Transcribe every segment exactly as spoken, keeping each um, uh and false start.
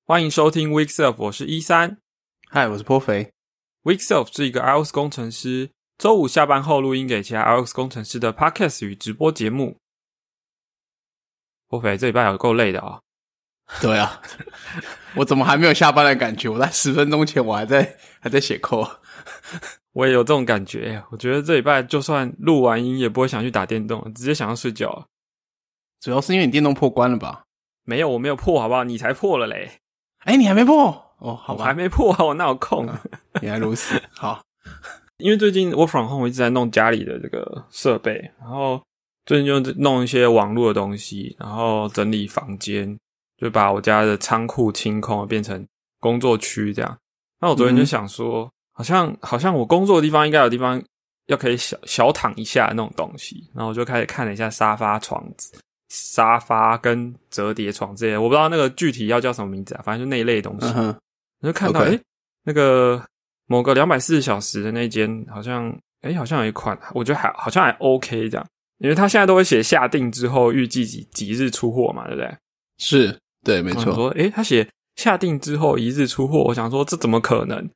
欢迎收听 Weekself， 我是一三。 嗨，我是颇肥。 Weekself 是一个 iOS 工程师周五下班后录音给其他 iOS 工程师的 Podcast 与直播节目。颇肥这礼拜有够累的啊、哦！ 对啊，我怎么还没有下班的感觉？我在十分钟前我还在还在写 code。 我也有这种感觉，我觉得这礼拜就算录完音也不会想去打电动，直接想要睡觉了。 主要是因为你电动破关了吧？ 没有，我没有破，好不好？你才破了嘞！ 哎，你还没破？哦，好吧， 我还没破啊，我哪有空？ 啊、原来如此。好， 因为最近 work from home 我一直在弄家里的这个设备，然后最近就弄一些网络的东西，然后整理房间，就把我家的仓库清空，变成工作区这样。那我昨天就想说，嗯、好像好像我工作的地方应该有地方要可以小小躺一下的那种东西，然后我就开始看了一下沙发、床子。沙发跟折叠床这些，我不知道那个具体要叫什么名字啊，反正就那一类的东西。我、uh-huh. 就看到，诶、okay. 那个某个两百四十小时的那间，好像，诶好像有一款，我觉得还好像还 OK 这样，因为他现在都会写下定之后预计几几日出货嘛，对不对？ 是，对，没错。 我说，诶他写下定之后一日出货，我想说这怎么可能？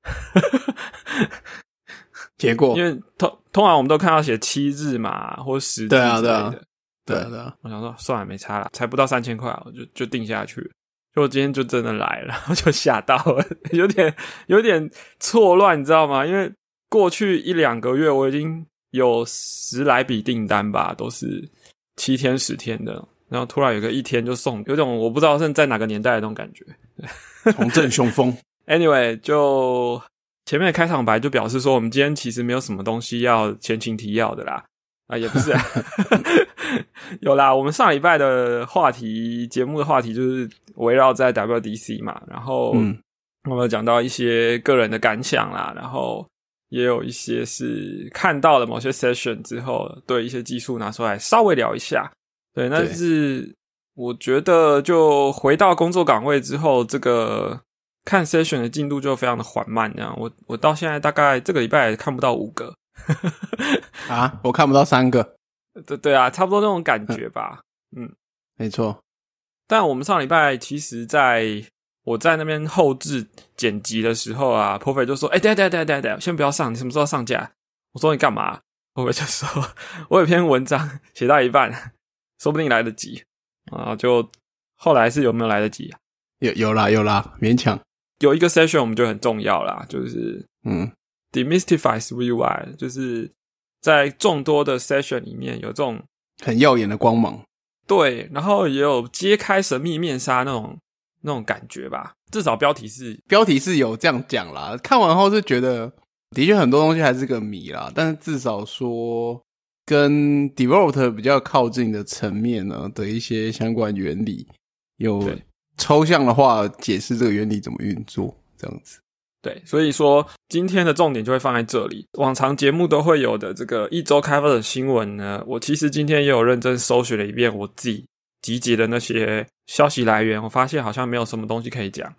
结果， 因为通通常我们都看到写七日嘛，或十日之类的。对啊，对啊。 对啊对啊， 我想说算了，没差了，才不到三千块，我就就定下去了。就我今天就真的来了，我就吓到了，有点有点错乱，你知道吗？因为过去一两个月我已经有十来笔订单吧，都是七天十天的，然后突然有个一天就送，有种我不知道是在哪个年代的那种感觉， 重振雄风。 Anyway， 就前面的开场白就表示说，我们今天其实没有什么东西要前情提要的啦。啊，也不是、啊，有啦。我们上礼拜的话题，节目的话题就是围绕在 W D C 嘛，然后我们有讲到一些个人的感想啦，然后也有一些是看到了某些 session 之后，对一些技术拿出来稍微聊一下。对，但是我觉得就回到工作岗位之后，这个看 session 的进度就非常的缓慢，这样。我我到现在大概这个礼拜也看不到五个。 啊，我看不到三个。 对对啊，差不多那种感觉吧。嗯， 没错。 但我们上礼拜其实在我在那边后制剪辑的时候啊 Perfect 就说诶等一下等一下等一下等一下先不要上，你什么时候上架？我说你干嘛？ Perfect 就说我有篇文章写到一半，说不定来得及啊。就后来是有没有来得及、啊、 有有啦有啦，勉强。 有一个 session 我们就很重要啦，就是嗯 Demystify three U I， 就是在众多的 session 里面有这种很耀眼的光芒， 对，然后也有揭开神秘面纱那种那种感觉吧。至少标题是标题是有这样讲啦，看完后是觉得的确很多东西还是个谜啦，但是至少说跟 developer 比较靠近的层面呢的一些相关原理，有抽象的话解释这个原理怎么运作这样子。 对，所以说今天的重点就会放在这里。往常节目都会有的这个一周开发的新闻呢，我其实今天也有认真搜寻了一遍我自己集结的那些消息来源，我发现好像没有什么东西可以讲。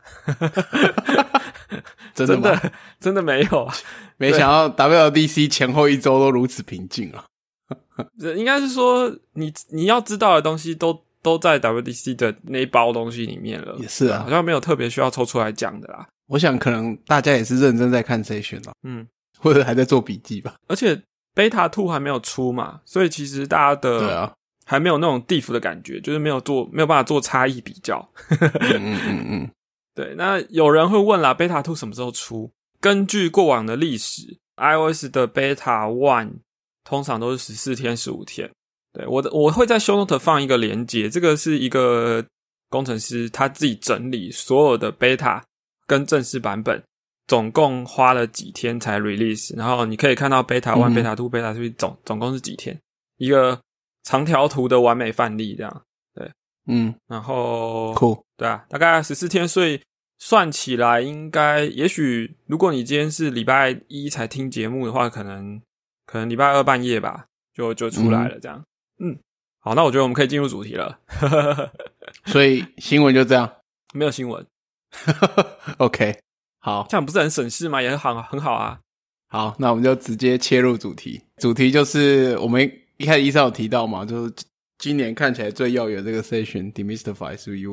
真的吗？ 真的真的没有啊！ 没想到 W D C 前后一周都如此平静啊！ 应该是说你你要知道的东西都都在 W D C 的那一包东西里面了。 也是啊， 好像没有特别需要抽出来讲的啦。 我想可能大家也是认真在看 session 啦， 嗯， 或者还在做笔记吧。 而且 beta 二 还没有出嘛，所以其实大家的对啊， 还没有那种 diff 的感觉，就是没有做没有办法做差异比较。 嗯嗯嗯嗯， 对。那有人会问啦 ，beta 二 什么时候出？根据过往的历史 ，iOS 的 beta 一 通常都是十四天、十五天。对，我的我会在 show note 放一个连结，这个是一个工程师他自己整理所有的 beta 跟正式版本总共花了几天才 release， 然后你可以看到 beta 一、嗯、beta 二、beta 三 总总共是几天，一个长条图的完美范例这样。对， 嗯， 然后酷， 对啊，大概十四天，所以算起来应该也许如果你今天是礼拜一才听节目的话，可能可能礼拜二半夜吧就就出来了这样。嗯, 嗯好，那我觉得我们可以进入主题了。 所以新闻就这样， 没有新闻。 OK， 好， 这样不是很省事吗？也很好，很好啊。 好，那我们就直接切入主题。主题就是我们一开始医生有提到嘛，就是今年看起来最耀眼的这个 session Demystify three U I，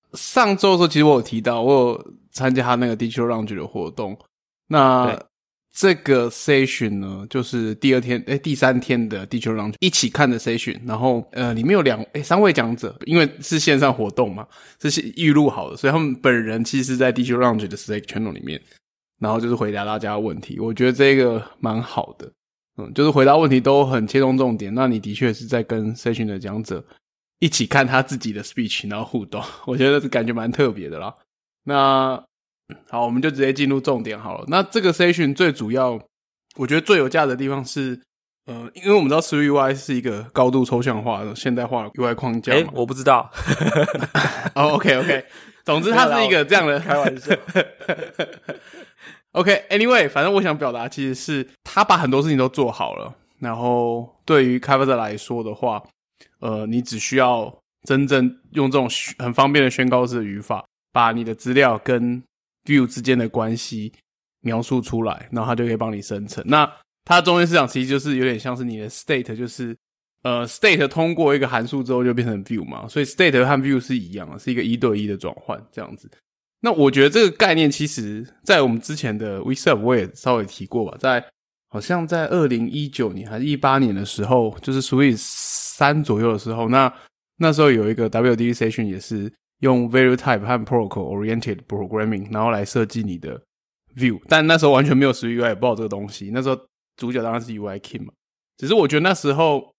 上周的时候，其实我有提到，我有参加他那个 Digital Lounge 的活动。那这个 session 呢，就是第二天，诶，第三天的 Digital Lounge 一起看的 session。然后，呃，里面有两，诶，三位讲者，因为是线上活动嘛，是预录好的，所以他们本人其实是在 Digital Lounge 的 Slack channel 里面，然后就是回答大家的问题。我觉得这个蛮好的，嗯，就是回答问题都很切中重点。那你的确是在跟 session 的讲者一起看他自己的 speech， 然后互动，我觉得这感觉蛮特别的啦。那好，我们就直接进入重点好了。那这个 session 最主要，我觉得最有价值的地方是，呃，因为我们知道 Sui U I 是一个高度抽象化的现代化的 U I 框架嘛。 诶，我不知道。 哦 ，OK OK， 总之它是一个这样的开玩笑。 OK，Anyway， 反正我想表达其实是他把很多事情都做好了，然后对于开发者来说的话，呃，你只需要真正用这种很方便的宣告式的语法，把你的资料跟 view 之间的关系描述出来，然后它就可以帮你生成。那它中间市场其实就是有点像是你的 state， 就是呃 state 通过一个函数之后就变成 view 嘛，所以 state 和 view 是一样的，是一个一对一的转换这样子。那我觉得这个概念其实在我们之前的 WeServe 我也稍微提过吧，在好像在二零一九年还是一八年的时候，就是 Sui 三左右的时候，那那时候有一个 W D session 也是用 Value Type 和 Protocol Oriented Programming 然后来设计你的 View， 但那时候完全没有 Sui U I， 也不知道这个东西。那时候主角当然是 U I King 嘛，只是我觉得那时候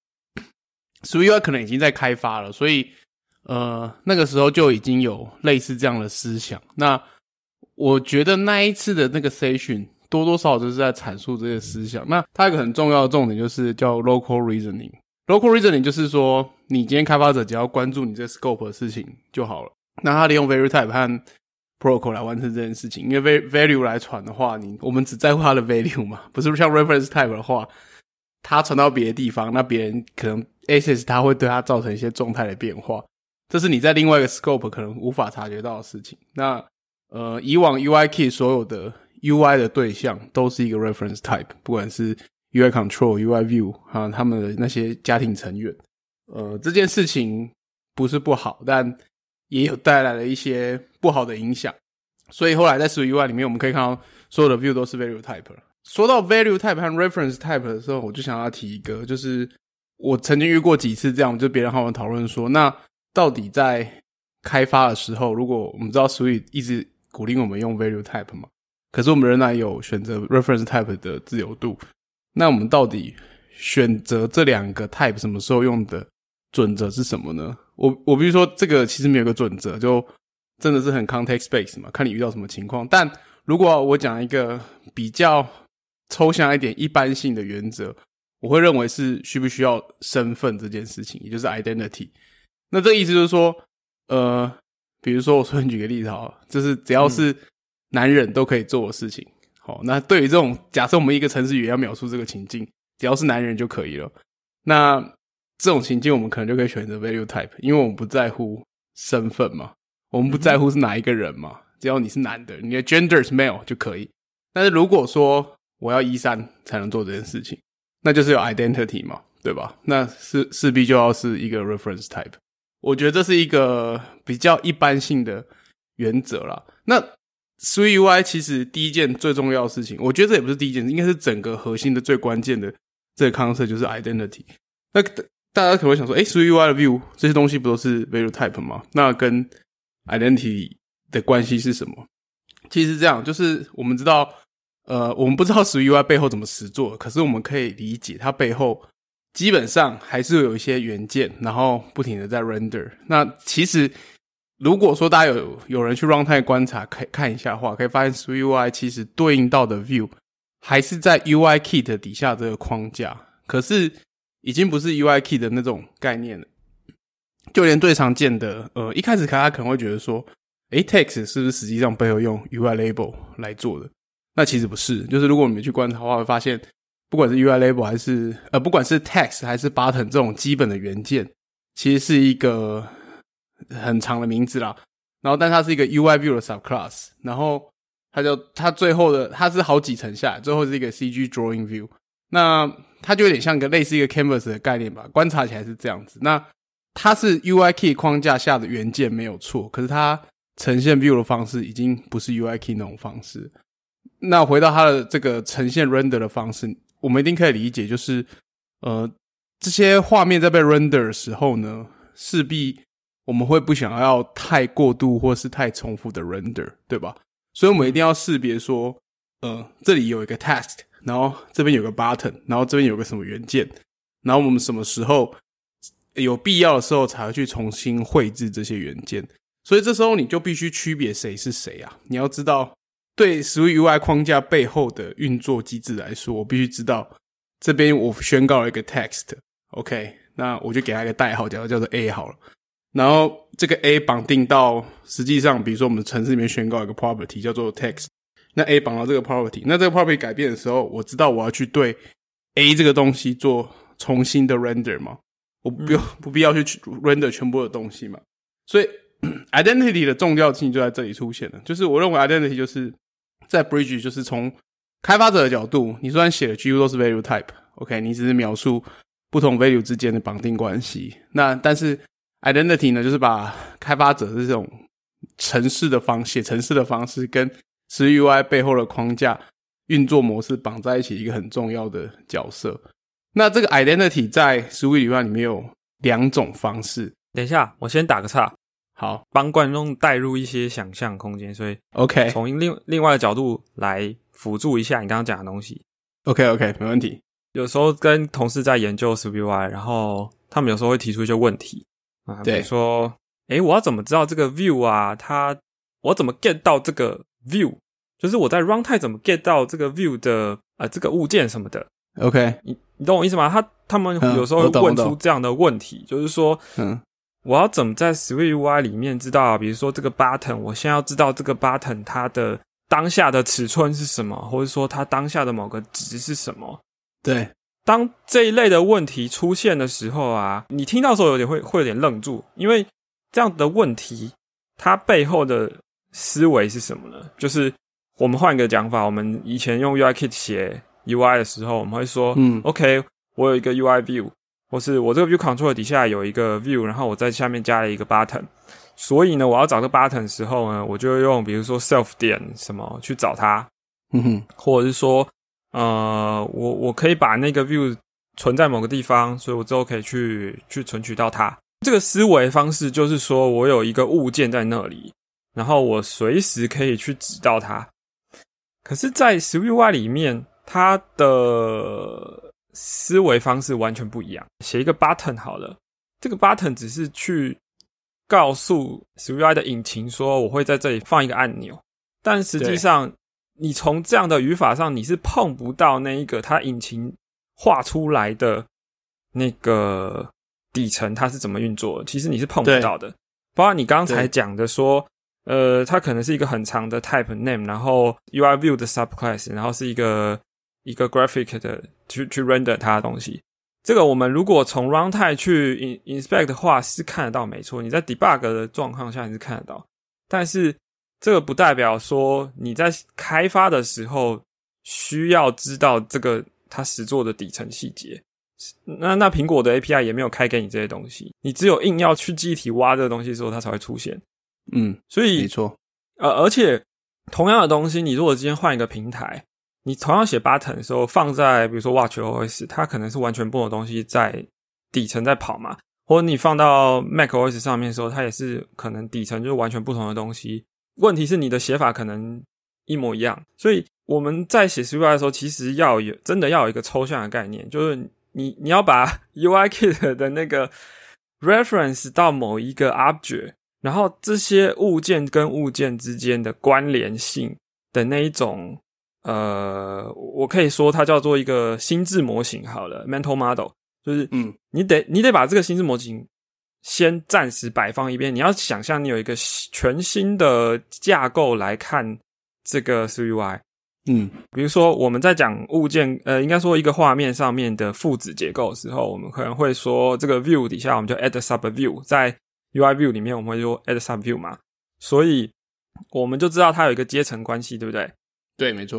Sui U I 可能已经在开发了，所以呃那个时候就已经有类似这样的思想。那我觉得那一次的那个 session 多多少少就是在阐述这些思想。那它有一个很重要的重点就是叫 Local Reasoning。Local Reasoning 就是说你今天开发者只要关注你这个 scope 的事情就好了。那他利用 Value Type 和 Protocol 来完成这件事情，因为 Value 来传的话，你我们只在乎它的 Value 嘛，不是像 Reference Type 的话，它传到别的地方，那别人可能 access 它会对它造成一些状态的变化，这是你在另外一个 scope 可能无法察觉到的事情。那呃，以往 U I Kit 所有的 U I 的对象都是一个 Reference Type， 不管是 U I Control、U I View 啊，他们的那些家庭成员。呃，这件事情不是不好，但也有带来了一些不好的影响。所以后来在 Sui U I 里面，我们可以看到所有的 View 都是 Value Type 了。说到 Value Type 和 Reference Type 的时候，我就想要提一个，就是我曾经遇过几次这样，就别人和我讨论说，那到底在开发的时候，如果我们知道 Sui 一直鼓励我们用 Value Type 嘛，可是我们仍然有选择 Reference Type 的自由度，那我们到底选择这两个 Type 什么时候用的准则是什么呢？我我比如说这个其实没有个准则，就真的是很 context based 嘛，看你遇到什么情况。但如果我讲一个比较抽象一点一般性的原则，我会认为是需不需要身份这件事情，也就是 identity。那这个意思就是说呃比如说我随便举个例子好了，就是只要是男人都可以做的事情。好，那对于这种假设我们一个程式语言要描述这个情境，只要是男人就可以了。那这种情境我们可能就可以选择 value type， 因为我们不在乎身份嘛，我们不在乎是哪一个人嘛，只要你是男的，你的 gender 是 male 就可以。但是如果说我要一三才能做这件事情，那就是有 identity 嘛，对吧？那是势必就要是一个 reference type。我觉得这是一个比较一般性的原则啦。那 Sui U I 其实第一件最重要的事情，我觉得这也不是第一件，应该是整个核心的最关键的这个 concept 就是 identity。那大家可能会想说，诶 Sui U I 的 view 这些东西不都是 value type 吗？那跟 identity 的关系是什么？其实是这样，就是我们知道呃，我们不知道 Sui U I 背后怎么实作，可是我们可以理解它背后基本上还是有一些元件，然后不停的在 render。那其实如果说大家有有人去 runtime 观察可以看一下的话，可以发现 Sui U I 其实对应到的 view 还是在 U I Kit 底下这个框架，可是已经不是 U I Kit 的那种概念了。就连最常见的呃，一开始大家可能会觉得说诶 text 是不是实际上背后用 U I label 来做的？那其实不是，就是如果你们去观察的话，会发现不管是 U I label 还是呃，不管是 text 还是 button 这种基本的元件，其实是一个很长的名字啦。然后但它是一个 U I view 的 subclass， 然后它就它最后的它是好几层下来，最后是一个 C G drawing view。那它就有点像一个类似一个 canvas 的概念吧，观察起来是这样子。那它是 U I Kit 框架下的元件没有错，可是它呈现 view 的方式已经不是 U I Kit 那种方式。那回到它的这个呈现 render 的方式，我们一定可以理解，就是呃，这些画面在被 render 的时候呢，势必我们会不想要太过度或是太重复的 render， 对吧？所以我们一定要识别说，呃，这里有一个 text， 然后这边有个 button， 然后这边有个什么元件，然后我们什么时候有必要的时候才会去重新绘制这些元件。所以这时候你就必须区别谁是谁啊！你要知道，对 Swift U I 框架背后的运作机制来说，我必须知道这边我宣告了一个 text，OK， 那我就给它一个代号，假如叫做 A 好了。然后这个 A 绑定到实际上，比如说我们程式里面宣告一个 property 叫做 text， 那 A 绑到这个 property， 那这个 property 改变的时候，我知道我要去对 A 这个东西做重新的 render 嘛，我不用、嗯、不必要去 render 全部的东西嘛。所以 identity 的重要性就在这里出现了，就是我认为 identity 就是在 bridge 就是从开发者的角度，你虽然写的几乎都是 value type， OK， 你只是描述不同 value 之间的绑定关系，那但是identity 呢，就是把开发者的这种程式的方写程式的方式跟 Swift U I 背后的框架运作模式绑在一起，一个很重要的角色。那这个 identity 在 Swift U I 里面有两种方式。 等一下，我先打个岔， 好， 帮观众带入一些想象空间，所以 OK 从另另外的角度来辅助一下你刚刚讲的东西。 OK OK， 没问题。 有时候跟同事在研究 Swift U I， 然后他们有时候会提出一些问题。啊，比如说，诶，我要怎么知道这个 view 啊？它我要怎么 get 到这个 view？ 就是我在 runtime 怎么 get 到这个 view 的呃这个物件什么的 ？OK， 你你懂我意思吗？他他们有时候会问出这样的问题，嗯、就是说，嗯，我要怎么在 Swift U I 里面知道、啊？比如说这个 button， 我先要知道这个 button 它的当下的尺寸是什么，或者说它当下的某个值是什么？ 对。 当这一类的问题出现的时候啊，你听到的时候有点会会有点愣住，因为这样的问题它背后的思维是什么呢？就是我们换一个讲法，我们以前用 U I Kit 写 U I 的时候，我们会说，嗯 ，OK， 我有一个 U I view， 或是我这个 view controller 底下有一个 view， 然后我在下面加了一个 button， 所以呢，我要找这个 button 的时候呢，我就用比如说 self 点什么去找它，嗯哼，或者是说。呃，我我可以把那个 view 存在某个地方，所以我之后可以去去存取到它。这个思维方式就是说我有一个物件在那里，然后我随时可以去指到它。可是在 Swift U I 里面，它的思维方式完全不一样。写一个 button 好了，这个 button 只是去告诉 Swift U I 的引擎说我会在这里放一个按钮，但实际上你从这样的语法上，你是碰不到那一个它引擎画出来的那个底层它是怎么运作的，其实你是碰不到的。包括你刚才讲的说，呃，它可能是一个很长的 type name， 然后 U I view 的 subclass， 然后是一个一个 graphic 的去去 render 它的东西。这个我们如果从 runtime 去 inspect 的话是看得到没错，你在 debug 的状况下你是看得到，但是这个不代表说你在开发的时候需要知道这个它实作的底层细节。那那苹果的 A P I 也没有开给你这些东西，你只有硬要去记忆体挖这个东西的时候它才会出现。 嗯， 所以没错。 呃，而且同样的东西，你如果今天换一个平台，你同样写 button 的时候放在比如说 watchOS， 它可能是完全不同的东西在底层在跑嘛，或者你放到 macOS 上面的时候，它也是可能底层就是完全不同的东西。问题是你的写法可能一模一样，所以我们在写 Swift U I 的时候，其实要有真的要有一个抽象的概念，就是你你要把 U I Kit 的那个 reference 到某一个 object， 然后这些物件跟物件之间的关联性的那一种，呃，我可以说它叫做一个心智模型好了 ，mental model， 就是嗯，你得你得把这个心智模型先暂时摆放一边，你要想象你有一个全新的架构来看这个 Swift U I。嗯，比如说我们在讲物件，呃，应该说一个画面上面的父子结构的时候，我们可能会说这个 view 底下我们就 add a sub view， 在 U I view 里面我们会说 add a sub view 嘛，所以我们就知道它有一个阶层关系，对不对？ 对，没错。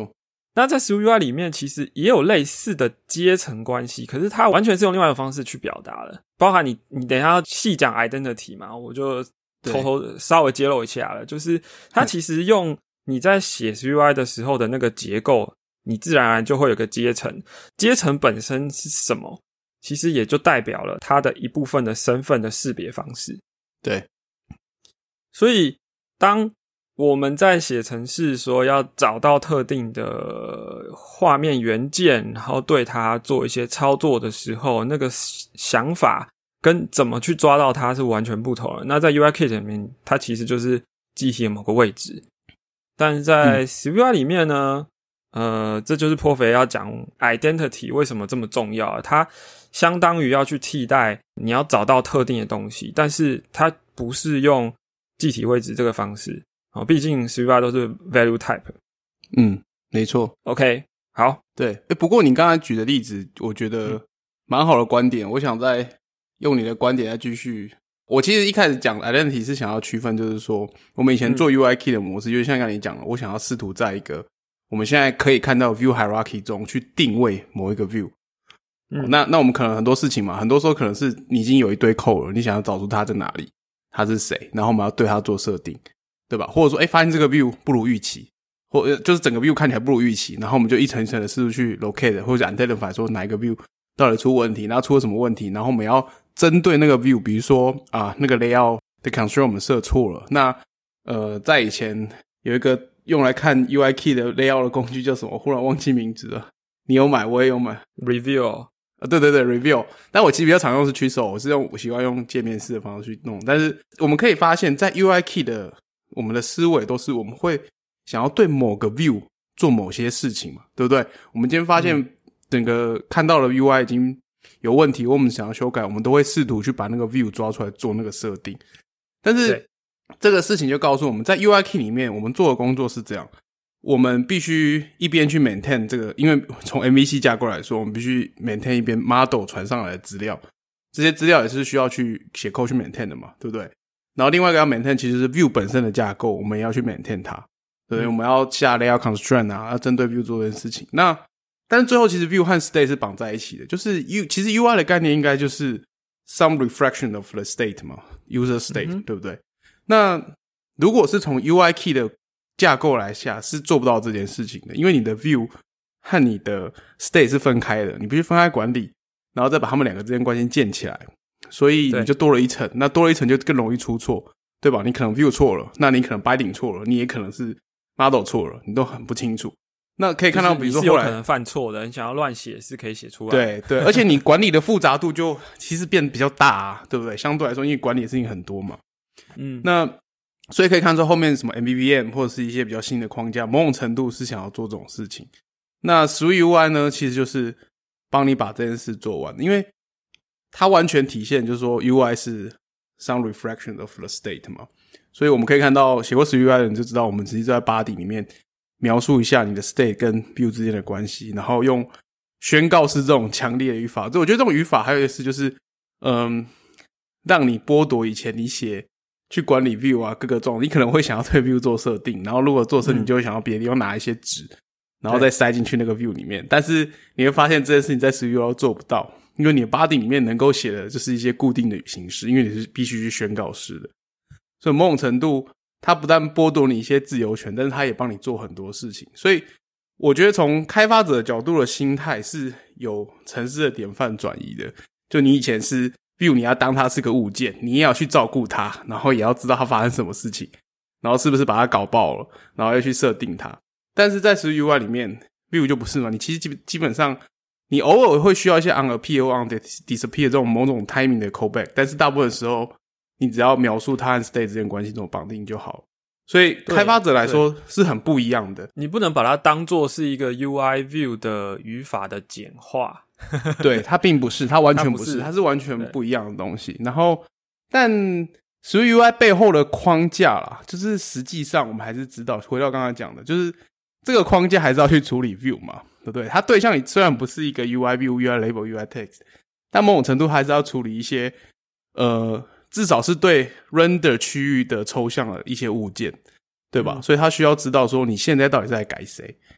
那在 SwiftUI 里面其实也有类似的阶层关系，可是它完全是用另外一个方式去表达了，包含你你等一下要细讲 identity 嘛，我就偷偷稍微揭露一下了，就是它其实用你在写 SwiftUI 的时候的那个结构，你自然而然就会有个阶层，阶层本身是什么，其实也就代表了它的一部分的身份的识别方式。 对， 所以当我们在写程式说要找到特定的画面元件，然后对它做一些操作的时候，那个想法跟怎么去抓到它是完全不同的。那在 U I Kit 里面，它其实就是记忆体的某个位置，但是在 SwiftUI 里面呢、嗯、呃，这就是颇肥要讲 identity 为什么这么重要，它相当于要去替代你要找到特定的东西，但是它不是用记体位置这个方式。哦，毕竟 SwiftUI 都是 value type。 嗯，没错。 OK， 好， 对。诶，不过你刚才举的例子，我觉得蛮好的观点。我想再用你的观点再继续。我其实一开始讲 identity 是想要区分，就是说我们以前做 U I Kit 的模式，嗯、就是像刚才你讲了，我想要试图在一个我们现在可以看到 view hierarchy 中去定位某一个 view。嗯，那那我们可能很多事情嘛，很多时候可能是你已经有一堆 code 了，你想要找出它在哪里，它是谁，然后我们要对它做设定。对吧？或者说，诶，发现这个 view 不如预期，或就是整个 view 看起来不如预期，然后我们就一层一层的试图去 locate 或者 identify 说哪一个 view 到底出问题，然后出了什么问题，然后我们要针对那个 view， 比如说啊，那个 layout 的 constraint 我们设错了。那呃，在以前有一个用来看 U I Kit 的 layout 的工具叫什么？我忽然忘记名字了。你有买，我也有买。 Reveal。 啊，对对对 ，Reveal。但我其实比较常用是 Chisel， 我是用我习惯用界面式的方式去弄。但是我们可以发现，在 U I Kit 的我们的思维都是我们会想要对某个 view 做某些事情嘛，对不对？我们今天发现整个看到了 U I 已经有问题，或我们想要修改，我们都会试图去把那个 view 抓出来做那个设定。但是这个事情就告诉我们，在 U I Kit 里面我们做的工作是这样，我们必须一边去 maintain 这个，因为从 M V C 架构来说，我们必须 maintain 一边 model 传上来的资料，这些资料也是需要去写 code 去 maintain 的嘛，对不对？然后另外一个要 maintain 其实是 view 本身的架构，我们也要去 maintain 它，对不对？嗯、我们要下 layout constraint 啊，要针对 view 做这件事情。那但是最后其实 view 和 state 是绑在一起的，就是 U 其实 U I 的概念应该就是 some reflection of the state 嘛 ，user state、嗯、对不对？那如果是从 U I Key 的架构来下，是做不到这件事情的，因为你的 view 和你的 state 是分开的，你必须分开管理，然后再把他们两个之间关系建起来。所以你就多了一层，那多了一层就更容易出错，对吧？你可能 view 错了，那你可能 binding 错了，你也可能是 model 错了，你都很不清楚。那可以看到，比如说后来你是有可能犯错的，你想要乱写是可以写出来的。 对对，而且你管理的复杂度就其实变得比较大啊，对不对？相对来说，因为管理的事情很多嘛。嗯，那所以可以看出后面什么 M V V M 或者是一些比较新的框架，某种程度是想要做这种事情。那 SwiftUI 呢，其实就是帮你把这件事做完，因为它完全体现就是说 U I 是 some reflection of the state 嘛，所以我们可以看到写过 SwiftUI 的人就知道，我们直接在 body 里面描述一下你的 state 跟 view 之间的关系，然后用宣告式这种强烈的语法。我觉得这种语法还有一个是就是嗯，让你剥夺以前你写去管理 view 啊各个状，你可能会想要对 view 做设定，然后如果做设定，你就会想要别的地方拿一些值、嗯、然后再塞进去那个 view 里面，但是你会发现这件事情在 SwiftUI 做不到，因为你的 body 里面能够写的就是一些固定的形式，因为你是必须去宣告式的，所以某种程度它不但剥夺你一些自由权，但是它也帮你做很多事情。所以我觉得从开发者的角度的心态是有程式的典范转移的，就你以前是 view 你要当它是个物件，你也要去照顾它，然后也要知道它发生什么事情，然后是不是把它搞爆了，然后要去设定它。但是在 SwiftUI 里面 view 就不是嘛，你其实基本上你偶尔会需要一些 unappear 或 undisappear 这种某种 timing 的 callback， 但是大部分时候你只要描述它和 state 之间关系这种绑定就好了。所以开发者来说是很不一样的， 你不能把它当作是一个 U I view 的语法的简化。 对，它并不是，它完全不是，它, 不是它是完全不一样的东西。然后但 SwiftUI 背后的框架啦，就是实际上我们还是知道，回到刚才讲的，就是这个框架还是要去处理 view 嘛，对不对？它对象虽然不是一个 U I view、U I label、U I text， 但某种程度还是要处理一些呃至少是对 render 区域的抽象的一些物件，对吧、嗯、所以他需要知道说你现在到底是在改谁。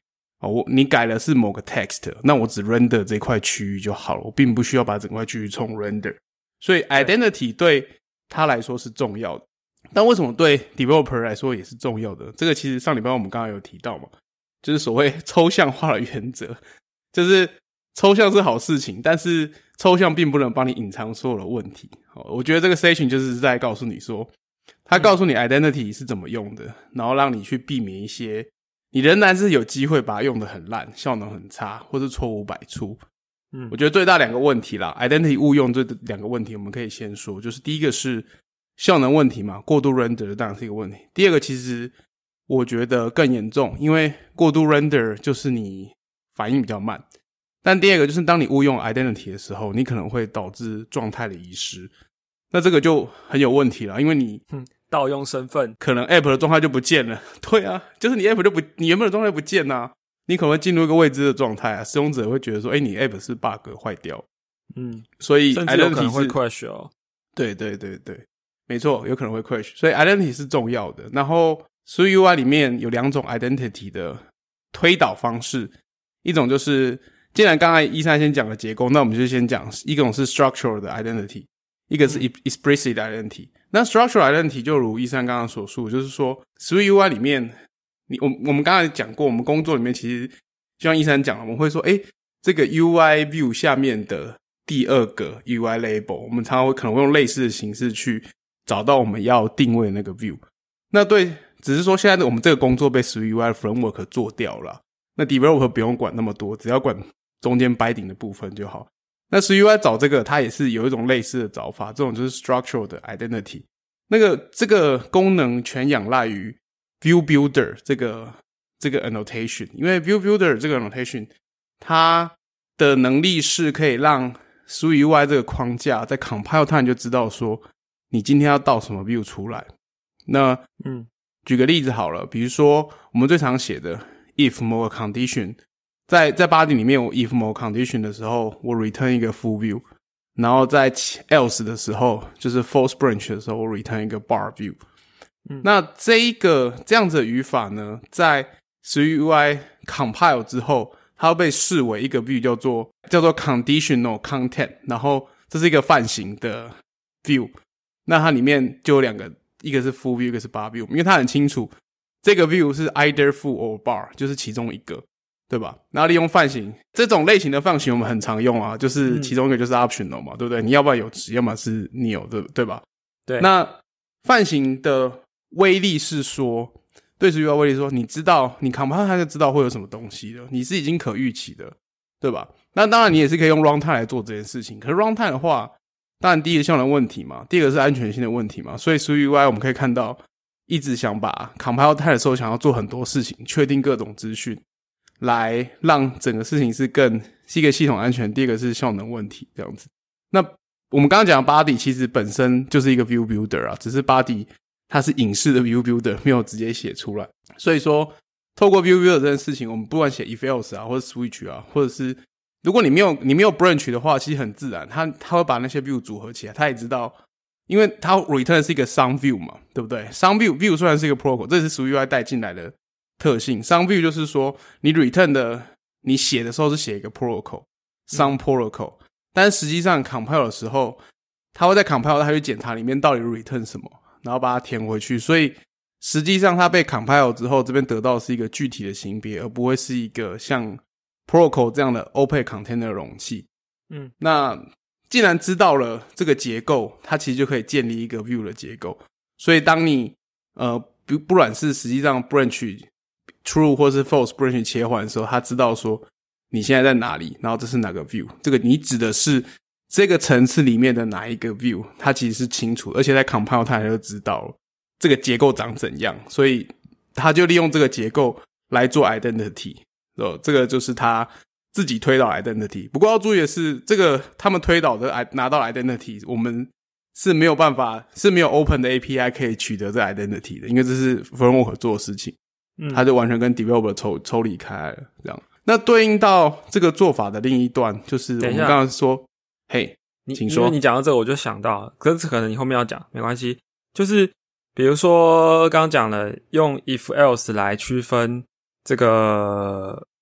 哦，我你改的是某个 text， 那我只 render 这块区域就好了，我并不需要把整块区域重 render。所以 identity 对他来说是重要的，但为什么对 developer 来说也是重要的？这个其实上礼拜我们刚刚有提到嘛，就是所谓抽象化的原则，就是抽象是好事情，但是抽象并不能帮你隐藏所有的问题。我觉得这个 session 就是在告诉你说，他告诉你 identity 是怎么用的，然后让你去避免一些你仍然是有机会把它用得很烂，效能很差，或是错误百出。嗯，我觉得最大两个问题啦 ，identity 误用这两个问题，我们可以先说，就是第一个是效能问题嘛，过度 render 当然是一个问题。第二个其实我觉得更严重，因为过度 render 就是你反应比较慢，但第二个就是当你误用 identity 的时候，你可能会导致状态的遗失，那这个就很有问题了，因为你嗯盗用身份， 可能 app 的状态就不见了。对啊，就是你 app 就不，你原本的状态不见啊。你可能会进入一个未知的状态啊，使用者会觉得说，诶，你 app 是 bug 坏掉，嗯，所以 identity 甚至有可能会 crash 哦。 对对对对，没错，有可能会 crash， 所以 identity 是重要的。然后 S W I U I 里面有两种 identity 的推导方式，一种就是既然刚才一三先讲了结构，那我们就先讲一种是 structural 的 identity， 一个是 explicit identity。那 structural identity 就如一三刚刚所述，就是说 S W I U I 里面你我我们刚才讲过，我们工作里面其实就像一三讲了，我们会说诶这个 U I view 下面的第二个 U I label， 我们常常会可能会用类似的形式去找到我们要定位的那个 view。那对，只是说现在我们这个工作被 S W I U I framework 做掉了，那 developer 不用管那么多，只要管中间 binding 的部分就好。那 S W I U I 找这个它也是有一种类似的找法，这种就是 structural 的 identity。那个这个功能全仰赖于View Builder 这个这个 annotation， 因为 View Builder 这个 annotation 它的能力是可以让 S W I U I 这个框架在 compile time 就知道说你今天要倒什么 view 出来。那嗯，举个例子好了，比如说我们最常写的 if 某个 condition， 在在 body 里面我 if 某个 condition 的时候我 return 一个 full view， 然后在 else 的时候就是 false branch 的时候我 return 一个 bar view。嗯、那这一个这样子的语法呢，在 S W I U I compile 之后，它会被视为一个 view 叫做叫做 conditional content， 然后这是一个泛型的 view， 那它里面就有两个，一个是 full view， 一个是 bar view， 因为它很清楚这个 view 是 either full or bar， 就是其中一个，对吧？然后利用泛型这种类型的泛型我们很常用啊，就是其中一个就是 optional 嘛，对不对？你要不然有值，要么是 nil， 对对吧？ 对。那泛型的威力是说，对 S W I U I 威力说，你知道你 compile 它就知道会有什么东西的，你是已经可预期的，对吧？那当然你也是可以用 runtime 来做这件事情，可是 runtime 的话，当然第一个效能问题嘛，第二个是安全性的问题嘛，所以 S W I U I 我们可以看到一直想把 compile time 的时候想要做很多事情，确定各种资讯，来让整个事情是更是一个系统安全，第二个是效能问题这样子。那我们刚刚讲的 body 其实本身就是一个 view builder 啊，只是 body它是隐式的 view builder， 没有直接写出来。所以说透过 view builder 这件事情，我们不管写 if else 啊，或者 switch 啊，或者是如果你没有你没有 branch 的话，其实很自然，它它会把那些 view 组合起来，它也知道，因为它 return 是一个 some view 嘛，对不对？ some view view 虽然是一个 protocol， 这是 S W I U I 带进来的特性。some view 就是说你 return 的你写的时候是写一个 protocol some protocol， 但是实际上 compile 的时候，它会在 compile 它去检查里面到底 return 什么，然后把它填回去，所以实际上它被 compile 之后，这边得到的是一个具体的型别，而不会是一个像 protocol 这样的 opaque container 的容器。嗯，那既然知道了这个结构，它其实就可以建立一个 view 的结构。所以当你呃不不管是实际上 branch true 或是 false branch 切换的时候，它知道说你现在在哪里，然后这是哪个 view， 这个你指的是这个层次里面的哪一个 view， 它其实是清楚，而且在 compile 它就知道了这个结构长怎样，所以它就利用这个结构来做 identity， 这个就是它自己推导 identity。 不过要注意的是，这个他们推导的拿到 identity， 我们是没有办法，是没有 open 的 A P I 可以取得这 identity 的，因为这是 framework 做的事情，嗯，它就完全跟 developer 抽抽离开来了这样。那对应到这个做法的另一端，就是我们刚刚说，嘿，请说。 因为你讲到这个，我就想到，可是可能你后面要讲，没关系。就是比如说刚刚讲了，用 if else 来区分这个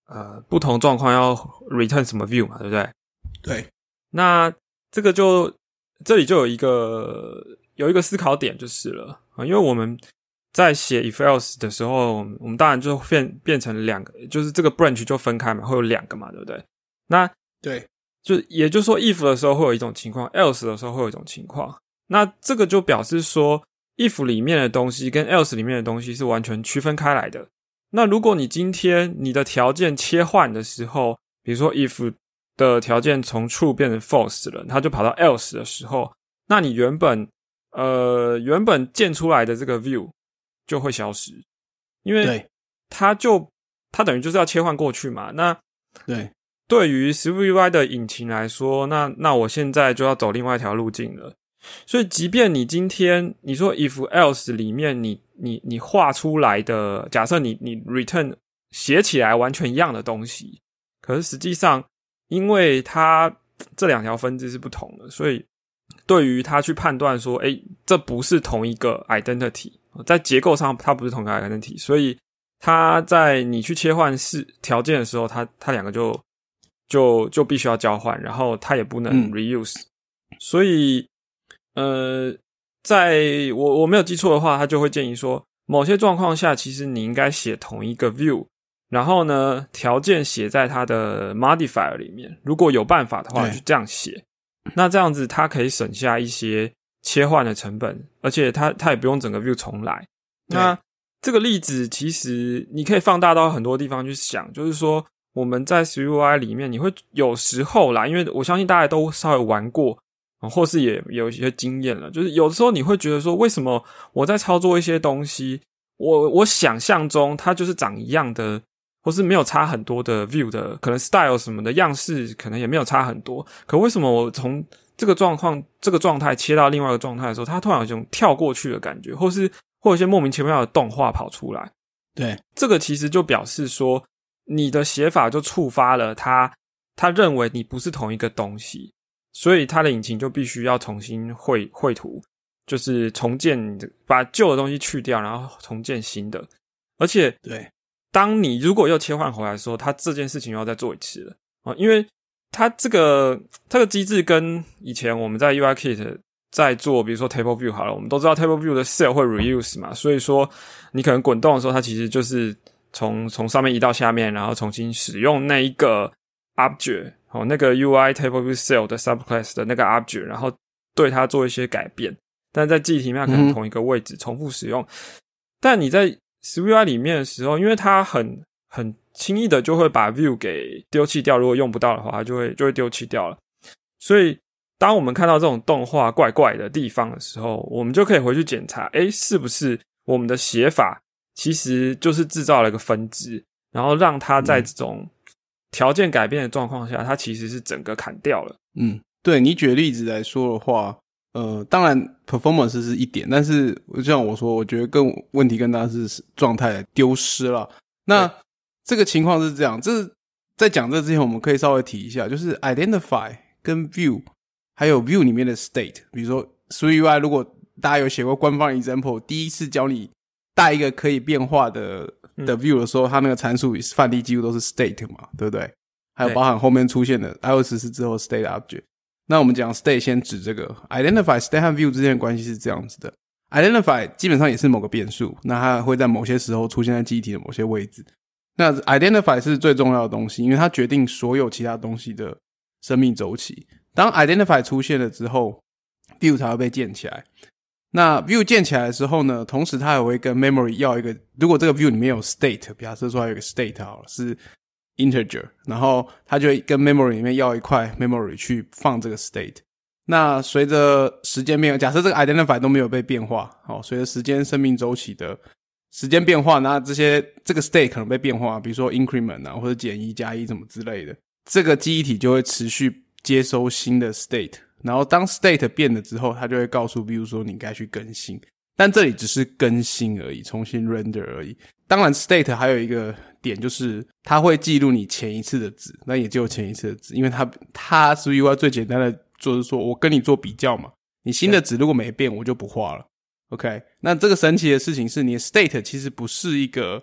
呃不同状况要 return 什么 view 嘛，对不对？ 对。 那这个就这里就有一个有一个思考点就是了啊，因为我们在写 if else 的时候，我们当然就变变成两个，就是这个 branch 就分开嘛，会有两个嘛，对不对？那对， 就也就是说 if 的时候会有一种情况 ，else 的时候会有一种情况。那这个就表示说 if 里面的东西跟 else 里面的东西是完全区分开来的。那如果你今天你的条件切换的时候，比如说 if 的条件从 true 变成 false 了，它就跑到 else 的时候，那你原本呃原本建出来的这个 view 就会消失，因为它就它等于就是要切换过去嘛。那对， 对于 SwiftUI 的引擎来说，那那我现在就要走另外一条路径了。所以即便你今天你说 if else 里面你你你画出来的，假设你你 return 写起来完全一样的东西，可是实际上因为它这两条分支是不同的，所以对于它去判断说诶这不是同一个 identity， 在结构上它不是同一个 identity， 所以它在你去切换是条件的时候，它它两个就就就必须要交换，然后它也不能 reuse、嗯、所以呃，在我我没有记错的话，他就会建议说，某些状况下，其实你应该写同一个 view， 然后呢，条件写在它的 modifier 里面。如果有办法的话，就这样写。那这样子，它可以省下一些切换的成本，而且它它也不用整个 view 重来。那这个例子其实你可以放大到很多地方去想，就是说我们在 SwiftUI 里面，你会有时候啦，因为我相信大家都稍微玩过。或是也有一些经验了，就是有的时候你会觉得说，为什么我在操作一些东西，我我想象中它就是长一样的，或是没有差很多的 view 的，可能 style 什么的样式可能也没有差很多，可为什么我从这个状况这个状态切到另外一个状态的时候，它突然有一种跳过去的感觉，或是或有一些莫名其妙的动画跑出来。 对， 这个其实就表示说，你的写法就触发了它，它认为你不是同一个东西。所以它的引擎就必须要重新绘绘图，就是重建，把旧的东西去掉，然后重建新的。而且， 对， 当你如果又切换回来的时候，它这件事情又要再做一次了啊，因为它这个这个机制跟以前我们在 U I Kit 在做，比如说 Table View 好了，我们都知道 Table View 的 cell 会 reuse 嘛，所以说你可能滚动的时候，它其实就是从从上面移到下面，然后重新使用那一个 object。哦，那个 U I Table View Cell 的 subclass 的那个 object， 然后对它做一些改变，但在记忆体面可能同一个位置重复使用。嗯、但你在 SwiftUI 里面的时候，因为它很很轻易的就会把 view 给丢弃掉，如果用不到的话，它就会就会丢弃掉了。所以当我们看到这种动画怪怪的地方的时候，我们就可以回去检查，诶，是不是我们的写法其实就是制造了一个分支，然后让它在这种、嗯条件改变的状况下，它其实是整个砍掉了。 嗯，对，你举例子来说的话，呃，当然 performance 是一点，但是就像我说，我觉得更问题更大是状态丢失了。那这个情况是这样，这在讲这之前，我们可以稍微提一下，就是 identify 跟 view 还有 view 里面的 state， 比如说 SwiftUI 如果大家有写过官方 example， 第一次教你带一个可以变化的的 view 的时候，它那个参数范例几乎都是 state 嘛，对不对？还有包含后面出现的 i O S 十四之后 state object。那我们讲 state 先指这个 identify state 和 view 之间的关系是这样子的。identify 基本上也是某个变数，那它会在某些时候出现在记忆体的某些位置。那 identify 是最重要的东西，因为它决定所有其他东西的生命周期。当 identify 出现了之后， view 才会被建起来。那 view 建起来的时候呢，同时它也会跟 memory 要一个，如果这个 view 里面有 state， 假设说有一个 state 好了，是 integer， 然后它就会跟 memory 里面要一块 memory 去放这个 state。那随着时间变，假设这个 identify 都没有被变化，好，随着时间生命周期的时间变化，那这些这个 state 可能被变化，比如说 increment 啊，或者减一加一什么之类的，这个记忆体就会持续接收新的 state。然后当 state 变了之后，它就会告诉 view 说你该去更新，但这里只是更新而已，重新 render 而已。当然 state 还有一个点，就是它会记录你前一次的值，那也只有前一次的值，因为它它是 U I 最简单的就是说我跟你做比较嘛，你新的值如果没变我就不画了。OK， 那这个神奇的事情是你的 state 其实不是一个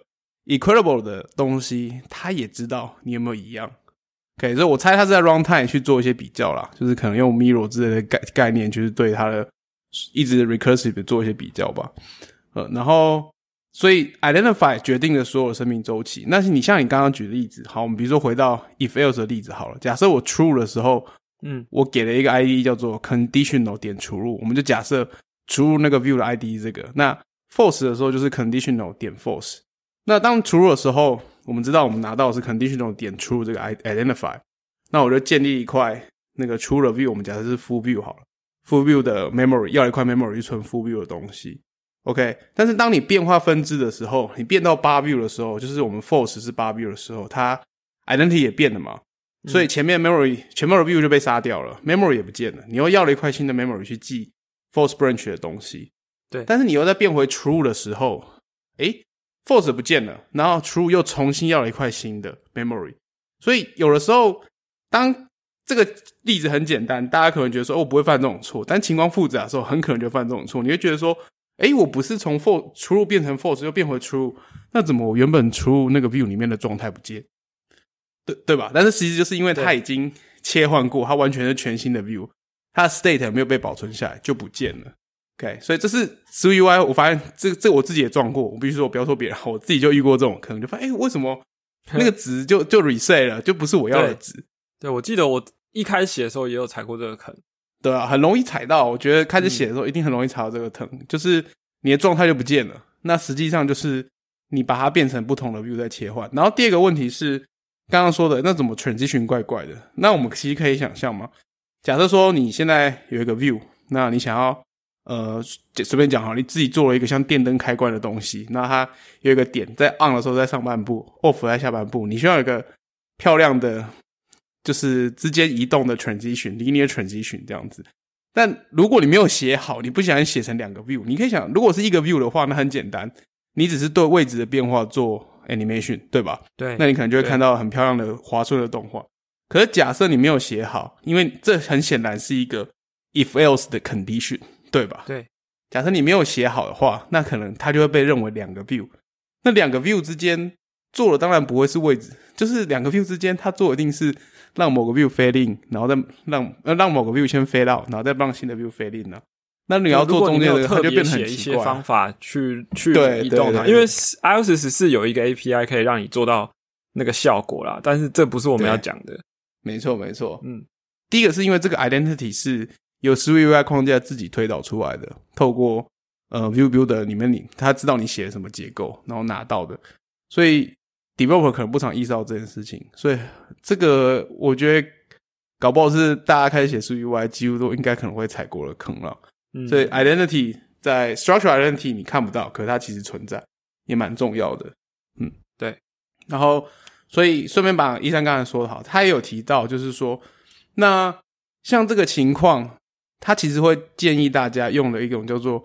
equitable 的东西，它也知道你有没有一样。OK， 所以我猜它是在 runtime 去做一些比较啦，就是可能用 mirror 之类的概概念，就是对它的一直 recursive 的做一些比较吧。呃，然后所以 identify 决定了所有的生命周期。那你像你刚刚举的例子，好，我们比如说回到 if else 的例子好了，假设我 true 的时候，嗯，我给了一个 I D 叫做 conditional 点除入，我们就假设除入那个 view 的 I D 这个，那 false 的时候就是 conditional 点 false。那当除入的时候，我们知道我们拿到的是 conditional 点除入这个 identify， 那我就建立一块那个除入的 view， 我们假设是 full view 好了 ，full view 的 memory 要一块 memory 去存 full view 的东西。OK， 但是当你变化分支的时候，你变到八 view 的时候，就是我们 false 是八 view 的时候，它 identity 也变了嘛，所以前面 memory 前面的 view 就被杀掉了 ，memory 也不见了，你又要了一块新的 memory 去记 false branch 的东西。 对， 但是你又再变回 true 的时候，诶 false 不见了，然后 true 又重新要了一块新的 memory。所以有的时候，当这个例子很简单，大家可能觉得说，哦，我不会犯这种错，但情况复杂的时候，很可能就犯这种错。你会觉得说，诶，我不是从 false true 变成 false 又变回 true， 那怎么我原本 true 那个 view 里面的状态不见？对对吧？但是其实就是因为它已经切换过，它完全是全新的 view， 它的 state 没有被保存下来，就不见了。OK， 所以这是 S W I U I， 我发现这这我自己也撞过，我必须说，我不要说别人，我自己就遇过这种坑，就发现，诶，为什么那个值就就 reset 了，就不是我要的值？ 对，对，我记得我一开始写的时候也有踩过这个坑。 对啊，很容易踩到。我觉得开始写的时候一定很容易踩到这个坑，嗯、就是你的状态就不见了。那实际上就是你把它变成不同的 view 再切换。然后第二个问题是刚刚说的，那怎么 transition 怪怪的？那我们其实可以想象嘛，假设说你现在有一个 view， 那你想要呃随便讲好，你自己做了一个像电灯开关的东西，那它有一个点在 on 的时候在上半部 ，off 在下半部，你需要有一个漂亮的就是之间移动的 transition linear transition 这样子。但如果你没有写好，你不想写成两个 view， 你可以想如果是一个 view 的话，那很简单，你只是对位置的变化做 animation， 对吧？ 对， 那你可能就会看到很漂亮的滑顺的动画。可是假设你没有写好，因为这很显然是一个 if else 的 condition， 对吧？ 对， 假设你没有写好的话，那可能它就会被认为两个 view， 那两个 view 之间做的当然不会是位置，就是两个 view 之间它做的一定是让某个 view fade in， 然后再让呃让某个 view 先 fade out， 然后再让新的 view fade in 啊。那你要做中间的，它就变得很奇怪。如果你没有特别写一些方法去去移动它，因为 iOS 十四有一个 A P I 可以让你做到那个效果啦，但是这不是我们要讲的。没错没错，嗯，第一个是因为这个 identity 是由 S W I U I 框架自己推导出来的，透过呃 View Builder 里面你他知道你写了什么结构，然后拿到的，所以 developer 可能不常意识到这件事情，所以这个我觉得搞不好是大家开始写 S W I U I 几乎都应该可能会踩过了坑了。嗯，所以 identity 在 structure identity 你看不到，可是它其实存在，也蛮重要的。嗯， 对。 然后，所以顺便把一三刚才说的好，他也有提到，就是说，那像这个情况，他其实会建议大家用的一种叫做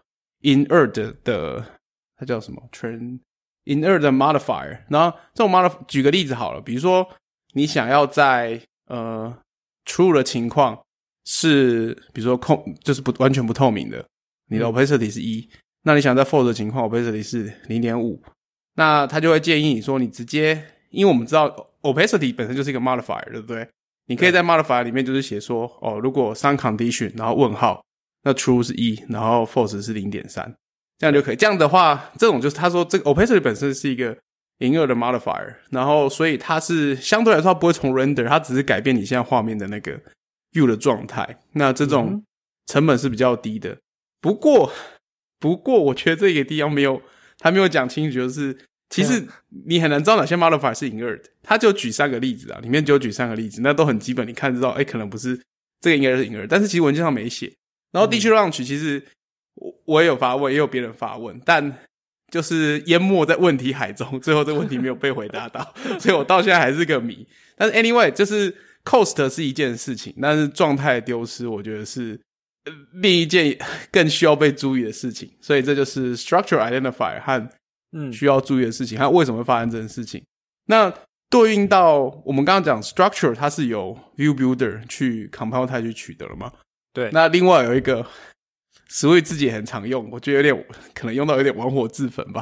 inert 的，它叫什么 ？train inert 的 modifier。然后这种 modifier， 举个例子好了，比如说你想要在呃 true 的情况。是比如说空就是不完全不透明的，你的 opacity 是一、嗯、那你想在 false 的情况 opacity 是 零点五， 那他就会建议你说你直接，因为我们知道 opacity 本身就是一个 modifier 对不对，你可以在 modifier 里面就是写说哦，如果 some condition 然后问号，那 true 是一，然后 false 是 零点三， 这样就可以。这样的话这种就是他说这个 opacity 本身是一个inert 的 modifier， 然后所以它是相对来说它不会重 render， 它只是改变你现在画面的那个view 的状态，那这种成本是比较低的。不过，不过我觉得这个地方没有，他没有讲清楚，就是其实你很难知道哪些 modifier 是 inert， 他就举三个例子啊，里面就举三个例子，那都很基本，你看知道，哎，可能不是这个应该是 inert， 但是其实文件上没写。然后地区 launch 其实我我也有发问，也有别人发问，但就是淹没在问题海中，最后这个问题没有被回答到，所以我到现在还是个谜。但是 anyway， 就是。cost 是一件事情，但是状态丢失我觉得是另一件更需要被注意的事情，所以这就是 structure identifier 和需要注意的事情，和为什么会发生这件事情。那对应到我们刚刚讲 structure 它是由 view builder 去 compile 它去取得了嘛？ 对。那另外有一个 S W I 自己也很常用，我觉得有点可能用到有点玩火自焚吧，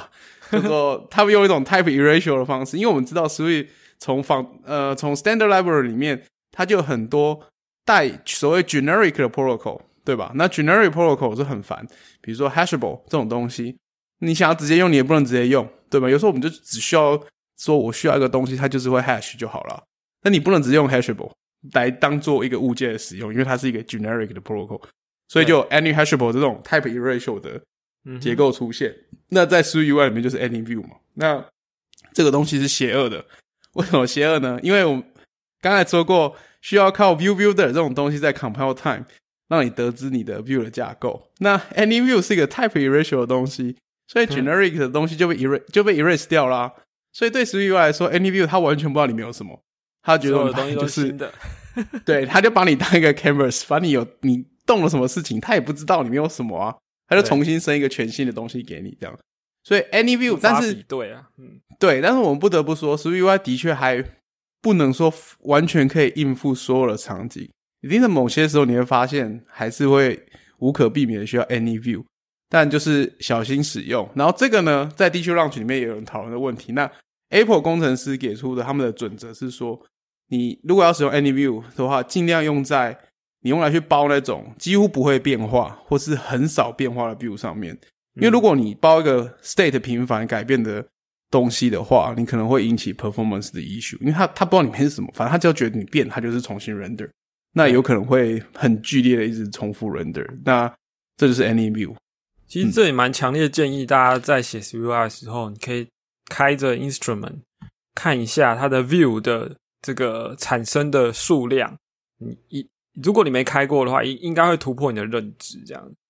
叫做他们用一种 type erasure 的方式，因为我们知道 Swift 从仿呃从 standard library 里面，它就有很多带所谓 generic 的 protocol， 对吧？那 generic protocol 是很烦，比如说 hashable 这种东西，你想要直接用，你也不能直接用，对吧？有时候我们就只需要说我需要一个东西，它就是会 hash 就好了。那你不能直接用 hashable 来当做一个物件的使用，因为它是一个 generic 的 protocol， 所以就有 any hashable 这种 type erasure 的结构出现。嗯、那在 SwiftUI 里面就是 AnyView 嘛。那这个东西是邪恶的，为什么邪恶呢？因为我们刚才说过，需要靠 View Builder 这种东西在 compile time 让你得知你的 view 的架构。那 AnyView 是一个 type erasure 的东西，所以 generic 的东西就被 erase 就被 erase 掉啦。所以对 SwiftUI 来说 AnyView 它完全不知道里面有什么，他觉得我们东西都是新的对，他就把你当一个 canvas， 把你有你动了什么事情他也不知道里面有什么啊，他就重新生一个全新的东西给你这样。所以 AnyView 但是对啊，嗯， 对，但是我们不得不说 SwiftUI 的确还不能说完全可以应付所有的场景，一定在某些时候你会发现还是会无可避免的需要 AnyView， 但就是小心使用。然后这个呢在 D Q Launch 里面也有人讨论的问题，那 Apple 工程师给出的他们的准则是说，你如果要使用 AnyView 的话，尽量用在你用来去包那种几乎不会变化或是很少变化的 view 上面。因为如果你包一个 state 频繁改变的东西的话，你可能会引起 performance 的 issue， 因为他他不知道里面是什么，反正他只要觉得你变，他就是重新 render， 那有可能会很剧烈的一直重复 render， 那这就是 AnyView。 其实这也蛮强烈的建议大家在写 SwiftUI 的时候，你可以开着 instrument 看一下它的 view 的这个产生的数量，你如果你没开过的话，应该会突破你的认知这样。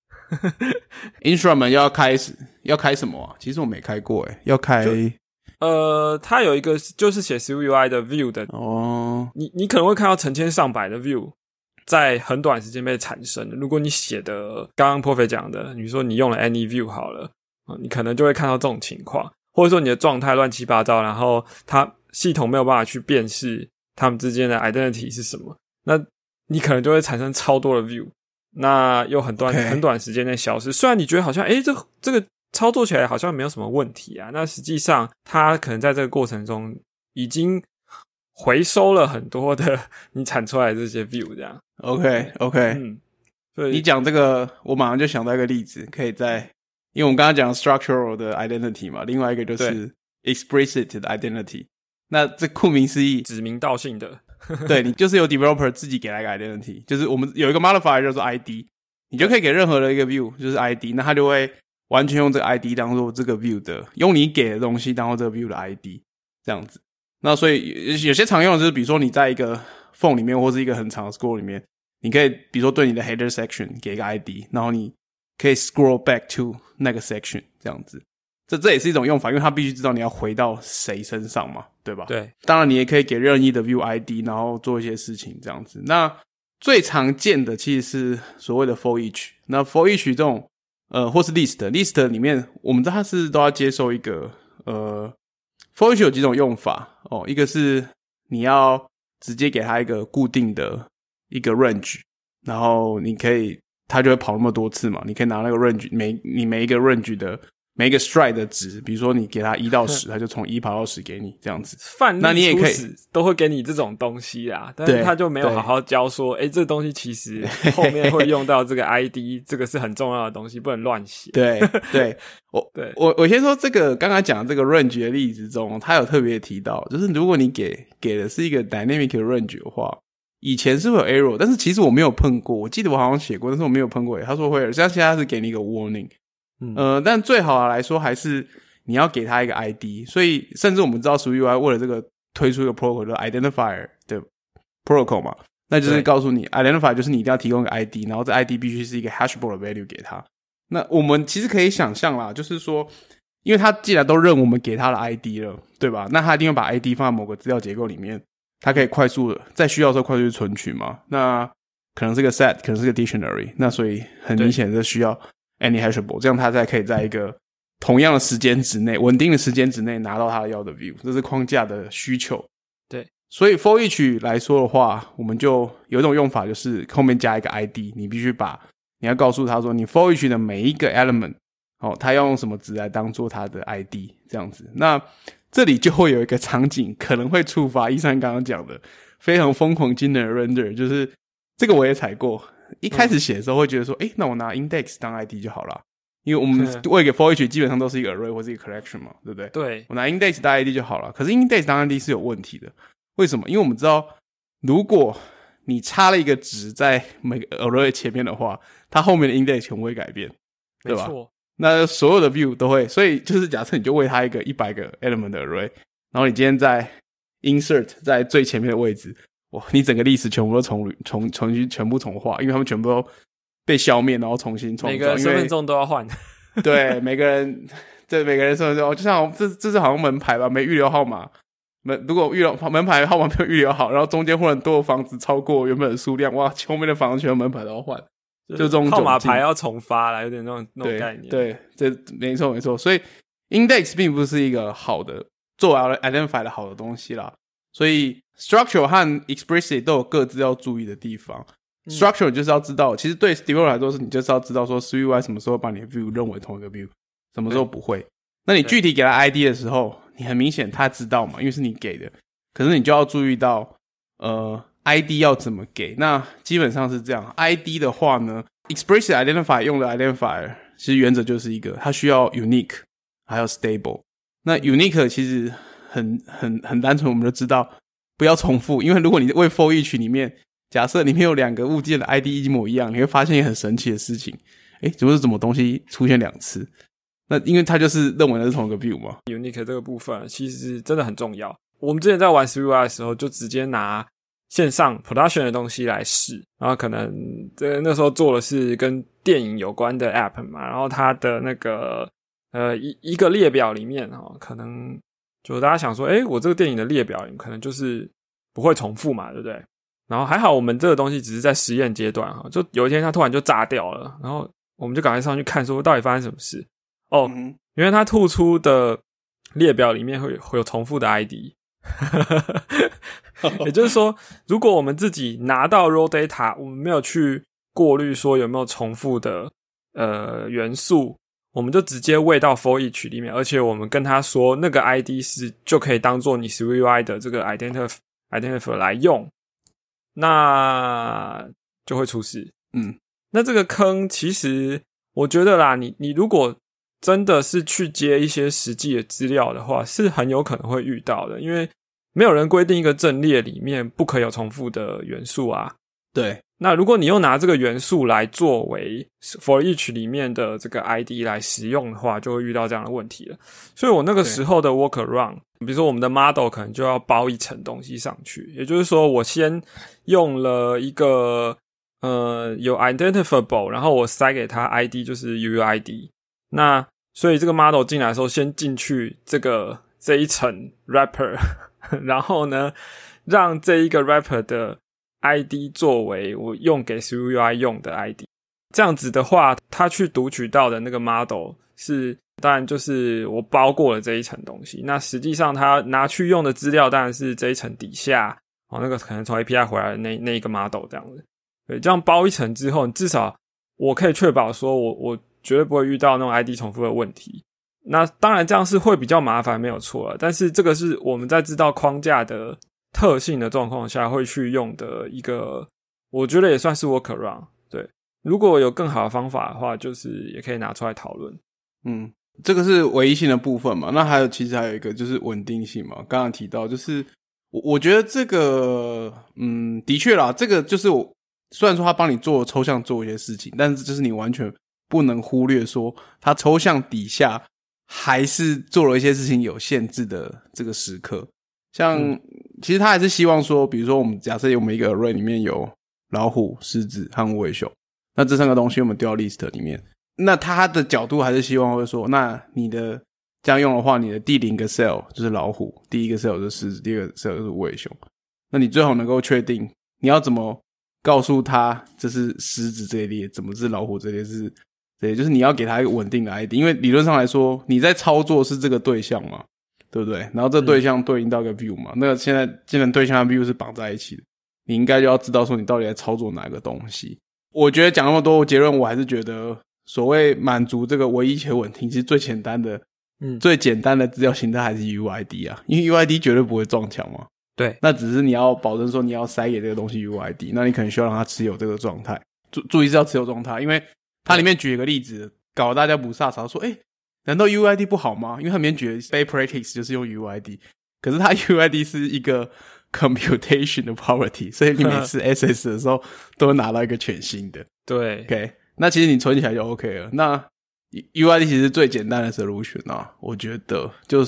instrument 要开始要开什么啊？其实我没开过诶，要开呃，它有一个就是写 SwiftUI 的 view 的哦， 你你可能会看到成千上百的 view 在很短时间被产生的。如果你写的刚刚 Prophet 讲的，你说你用了 AnyView 好了，你可能就会看到这种情况，或者说你的状态乱七八糟，然后它系统没有办法去辨识它们之间的 identity 是什么，那你可能就会产生超多的 view， 那又很短、okay. 很短时间内消失。虽然你觉得好像诶这这个操作起来好像没有什么问题啊，那实际上它可能在这个过程中已经回收了很多的你产出来的这些 view 这样。 OK OK， 嗯，所以你讲这个我马上就想到一个例子，可以在因为我们刚刚讲 structural 的 identity 嘛，另外一个就是 explicit 的 identity， 那这顾名思义指名道姓的对，你就是有 developer 自己给来一个 identity， 就是我们有一个 modifier 叫做 I D， 你就可以给任何的一个 view 就是 I D， 那它就会完全用这个 I D 当做这个 view 的，用你给的东西当做这个 view 的 I D 这样子。那所以有些常用的就是比如说你在一个 form 里面或是一个很长的 scroll 里面，你可以比如说对你的 header section 给一个 I D， 然后你可以 scroll back to 那个 section 这样子。这这也是一种用法，因为它必须知道你要回到谁身上嘛，对吧？ 对， 当然你也可以给任意的 view I D， 然后做一些事情这样子。那最常见的其实是所谓的 for each， 那 for each 这种呃或是 list list 里面我们知道它是都要接受一个呃 for each 有几种用法哦，一个是你要直接给它一个固定的一个 range， 然后你可以它就会跑那么多次嘛，你可以拿那个 range 每你每一个 range 的每一个 stride 的值，比如说你给它一到十，它就从一跑到十给你这样子。 范例初始都会给你这种东西啦，但是他就没有好好教说，诶，这个东西其实后面会用到这个 I D， 这个是很重要的东西，不能乱写。 对对，我对我我先说这个刚刚讲的这个 range 的例子中，他有特别提到，就是如果你给给的是一个 dynamic range 的话，以前是会有 error， 但是其实我没有碰过，我记得我好像写过，但是我没有碰过。他说会有，像现在是给你一个 warning。嗯、呃，但最好来说还是你要给他一个 I D， 所以甚至我们知道 SwiftUI 为了这个推出一个 protocol 叫 identifier 的 protocol 嘛，那就是告诉你 identifier 就是你一定要提供一个 I D， 然后这 I D 必须是一个 hashable 的 value 给他。那我们其实可以想象啦，就是说因为他既然都认我们给他的 I D 了，对吧，那他一定会把 I D 放在某个资料结构里面，他可以快速的在需要的时候快速去存取嘛，那可能是个 set， 可能是个 dictionary， 那所以很明显的需要any hashable， 这样它才可以在一个同样的时间值内稳定的时间值内拿到它要的 view， 这是框架的需求。 对， 所以 for each 来说的话，我们就有一种用法，就是后面加一个 I D， 你必须把你要告诉他说你 for each 的每一个 element 哦，他要用什么值来当做他的 I D 这样子。那这里就会有一个场景可能会触发一三刚刚讲的非常疯狂惊人的 render， 就是这个我也踩过。一开始写的时候会觉得说，诶、嗯、那我拿 index 当 I D 就好了，因为我们为给 for each 基本上都是一个 array 或是一个 collection 嘛，对不对？ 对， 我拿 index 当 I D 就好了。可是 index 当 I D 是有问题的，为什么？因为我们知道，如果你插了一个值在每个 array 前面的话，它后面的 index 全部会改变，对吧？ 没错。 那所有的 view 都会，所以就是假设你就喂它一个一百个 element 的 array， 然后你今天在 insert 在最前面的位置，哇，你整个历史全部都重重重新全部重画，因为他们全部都被消灭，然后重新创造。 每个人身份证都要换。 对，每个人，对每个人身份证，就像这这是好像门牌吧，没预留号码。门如果预留门牌号码没有预留好，然后中间忽然多的房子超过原本的数量，哇，后面的房子全部门牌都要换，就这种号码牌要重发啦，有点那种那种概念。 对，对，这没错没错。所以 index 并不是一个好的做 identify 的好的东西啦。所以 structure 和 explicit 都有各自要注意的地方。嗯、structure 就是要知道，其实对 developer 来说是你就是要知道说 three U I 什么时候把你的 view 认为同一个 view， 什么时候不会。那你具体给他 I D 的时候，你很明显他知道嘛，因为是你给的。可是你就要注意到，呃 ，I D 要怎么给。那基本上是这样 ，I D 的话呢 ，explicit identifier 用的 identifier 其实原则就是一个，它需要 unique， 还有 stable。那 unique 其实很很很单纯，我们就知道不要重复，因为如果你为 for each 里面，假设里面有两个物件的 I D 一模一样，你会发现一个很神奇的事情，诶，怎么是什么东西出现两次？那因为它就是认为那是同一个 view 嘛。 unique 这个部分其实真的很重要。我们之前在玩 three U I 的时候，就直接拿线上 production 的东西来试，然后可能这那时候做的是跟电影有关的 app 嘛，然后它的那个呃一一个列表里面齁，可能就大家想说，诶，我这个电影的列表可能就是不会重复嘛，对不对？然后还好我们这个东西只是在实验阶段齁，就有一天它突然就炸掉了，然后我们就赶快上去看说到底发生什么事。哦， 嗯、 因为它吐出的列表里面会会有重复的 I D。也就是说，如果我们自己拿到 raw data， 我们没有去过滤说有没有重复的呃元素，我们就直接喂到 for each 里面，而且我们跟他说那个 I D 是就可以当做你 three U I 的这个 identifier identifier 来用，那就会出事。 嗯， 那这个坑其实我觉得啦，你你如果真的是去接一些实际的资料的话，是很有可能会遇到的，因为没有人规定一个阵列里面不可以有重复的元素啊。 对， 那如果你又拿这个元素来作为 for each 里面的这个 I D 来使用的话，就会遇到这样的问题了。所以我那个时候的 workaround， 比如说我们的 model 可能就要包一层东西上去，也就是说我先用了一个呃有 identifiable， 然后我塞给它 I D 就是 U U I D。那所以这个 model 进来的时候，先进去这个这一层 wrapper， 然后呢，让这一个 wrapper 的 I D 作为我用给 three U I 用的 I D。这样子的话，它去读取到的那个 model 是，当然就是我包过了这一层东西。那实际上它拿去用的资料，当然是这一层底下哦，那个可能从 A P I 回来的那那一个 model 这样子。对，这样包一层之后，至少我可以确保说我我。绝对不会遇到那种 I D 重复的问题。那当然这样是会比较麻烦，没有错了。但是这个是我们在知道框架的特性的状况下会去用的一个，我觉得也算是 workaround。对，如果有更好的方法的话，就是也可以拿出来讨论。 嗯，这个是唯一性的部分嘛。那还有其实还有一个就是稳定性嘛。刚刚提到就是我我觉得这个嗯的确啦，这个就是我虽然说他帮你做抽象做一些事情，但是就是你完全不能忽略说他抽象底下还是做了一些事情有限制的这个时刻。像、嗯、其实他还是希望说，比如说我们假设我们一个 array 里面有老虎、狮子和无尾熊，那这三个东西我们丢到 list 里面，那他的角度还是希望会说，那你的这样用的话，你的第零个 cell 就是老虎，第一个 cell 就是狮子，第二个 cell 就是无尾熊，那你最好能够确定你要怎么告诉他这是狮子这一列，怎么是老虎这一列，是对，就是你要给他一个稳定的 I D， 因为理论上来说你在操作是这个对象嘛，对不对？然后这对象对应到一个 view 嘛，嗯、那个现在既然对象和 view 是绑在一起的，你应该就要知道说你到底在操作哪个东西。我觉得讲那么多结论，我还是觉得所谓满足这个唯一且稳定，其实最简单的嗯， 最简单的资料形态还是 U I D 啊，因为 U I D 绝对不会撞墙嘛。 对， 那只是你要保证说你要塞给这个东西 U I D， 那你可能需要让它持有这个状态。注注意是要持有状态，因为它里面举一个例子，搞得大家不飒飒说，诶，难道 U I D 不好吗？因为它里面举的 base practice 就是用 U I D， 可是它 U I D 是一个 computation 的 property， 所以你每次 access 的时候都会拿到一个全新的。 对 ，OK， 那其实你存起来就 OK 了。那 U I D 其实最简单的 solution 啊，我觉得就是。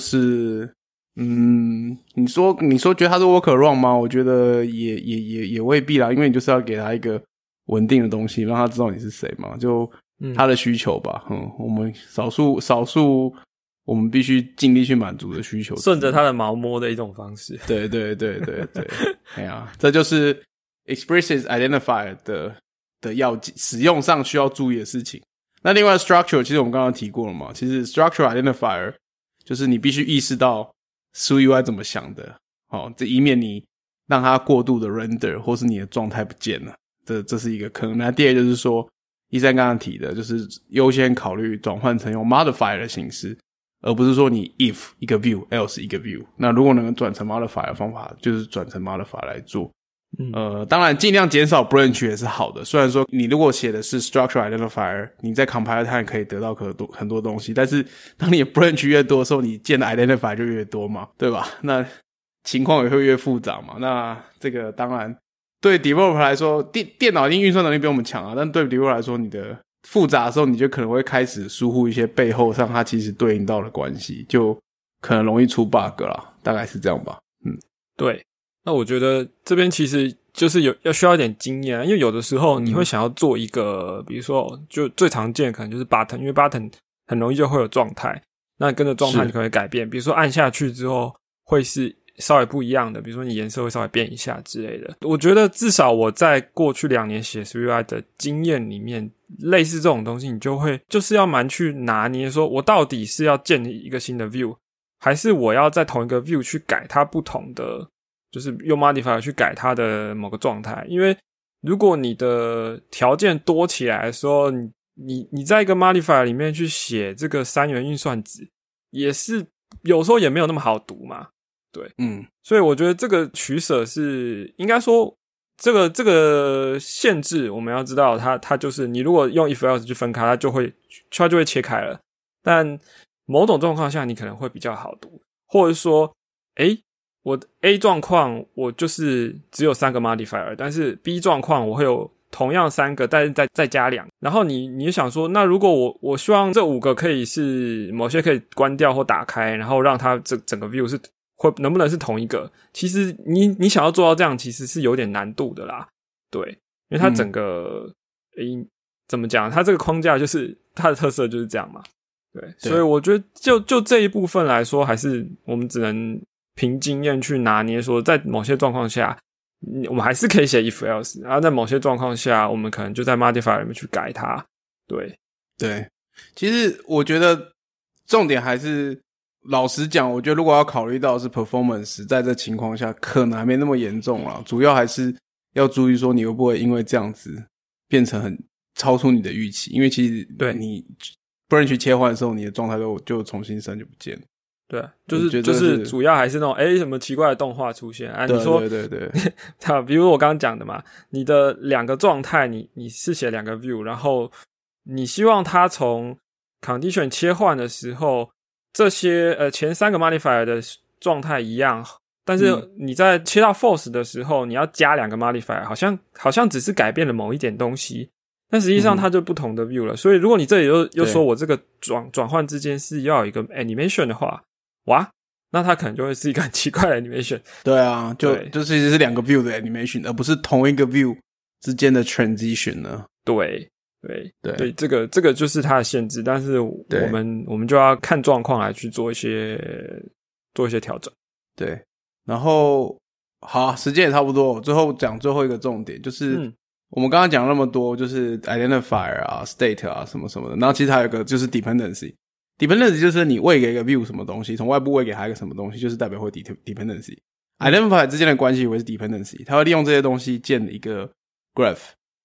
嗯，你说你说觉得它是 workaround 吗？我觉得也也也也未必啦，因为你就是要给他一个稳定的东西，让他知道你是谁嘛，就他的需求吧。嗯，我们少数少数我们必须尽力去满足的需求， 顺着他的毛摸的一种方式。 对对对对对，哎呀，这就是 explicit identifier 的的要使用上需要注意的事情。那另外 structure 其实我们刚刚提过了嘛，其实 structure identifier 就是你必须意识到S W U I 怎么想的，哦，这以免你让它过度的 render 或是你的状态不见了，这这是一个坑。那第二就是说，一三刚刚提的，就是优先考虑转换成用 modifier 的形式，而不是说你 if 一个 view else 一个 view。那如果能转成 modifier 的方法，就是转成 modifier 来做。嗯、呃，当然尽量减少 branch 也是好的。虽然说你如果写的是 structure identifier， 你在 compile time 可以得到很多很多东西，但是当你的 branch 越多的时候，你建的 identifier 就越多嘛，对吧？那情况也会越复杂嘛。那这个当然对 developer 来说，电电脑一定运算能力比我们强啊，但对 developer 来说，你的复杂的时候，你就可能会开始疏忽一些背后上它其实对应到的关系，就可能容易出 bug 啦，大概是这样吧。嗯， 对。那我觉得这边其实就是有要需要一点经验，因为有的时候你会想要做一个、嗯、比如说就最常见的可能就是 button， 因为 button 很容易就会有状态，那跟着状态你可能会改变，比如说按下去之后会是稍微不一样的，比如说你颜色会稍微变一下之类的。我觉得至少我在过去两年写 S W U I 的经验里面，类似这种东西你就会就是要蛮去拿捏，说我到底是要建一个新的 view， 还是我要在同一个 view 去改它不同的，就是用 modifier 去改它的某个状态。因为如果你的条件多起来的时候，你你你在一个 modifier 里面去写这个三元运算子，也是有时候也没有那么好读嘛。对，嗯，所以我觉得这个取舍是应该说这个这个限制我们要知道它它就是你如果用 if else 去分开，它就会它就会切开了，但某种状况下你可能会比较好读，或者说诶我的 A 状况我就是只有三个 modifier， 但是 B 状况我会有同样三个，但是再再加两，然后你你想说，那如果我我希望这五个可以是某些可以关掉或打开，然后让它这整个 view 是会能不能是同一个？其实你你想要做到这样，其实是有点难度的啦。对，因为它整个诶、嗯、怎么讲？它这个框架就是它的特色就是这样嘛。对，对，所以我觉得就就这一部分来说，还是我们只能凭经验去拿捏，说在某些状况下，我们还是可以写 if else， 然后在某些状况下，我们可能就在 modifier 里面去改它。对， 对，其实我觉得重点还是。老实讲，我觉得如果要考虑到的是 performance， 在这情况下可能还没那么严重啦，主要还是要注意说你会不会因为这样子变成很超出你的预期，因为其实对你 branch 切换的时候，你的状态就就重新生就不见了。 对，就是是就是主要还是那种诶什么奇怪的动画出现啊？你说对对对对，比如我刚刚讲的嘛，你的两个状态，你你是写两个 view， 然后你希望它从 condition 切换的时候。这些呃前三个 modifier 的状态一样，但是你在切到 false 的时候，你要加两个 modifier， 好像好像只是改变了某一点东西，但实际上它就不同的 view 了。嗯、所以如果你这里又又说我这个转转换之间是要有一个 animation 的话，哇，那它可能就会是一个很奇怪的 animation。 对啊，就就其实是两个 view 的 animation， 而不是同一个 view 之间的 transition 呢。 对。对对对，这个这个就是它的限制，但是我们我们就要看状况来去做一些做一些调整。 对，然后好，时间也差不多，最后讲最后一个重点，就是我们刚刚讲那么多，就是 identifier 啊、state 啊什么什么的，然后其实还有一个就是 dependency。dependency 就是你喂给一个 view 什么东西，从外部喂给它一个什么东西，就是代表会 dependency。identifier 之间的关系为是 dependency， 它会利用这些东西建一个 graph。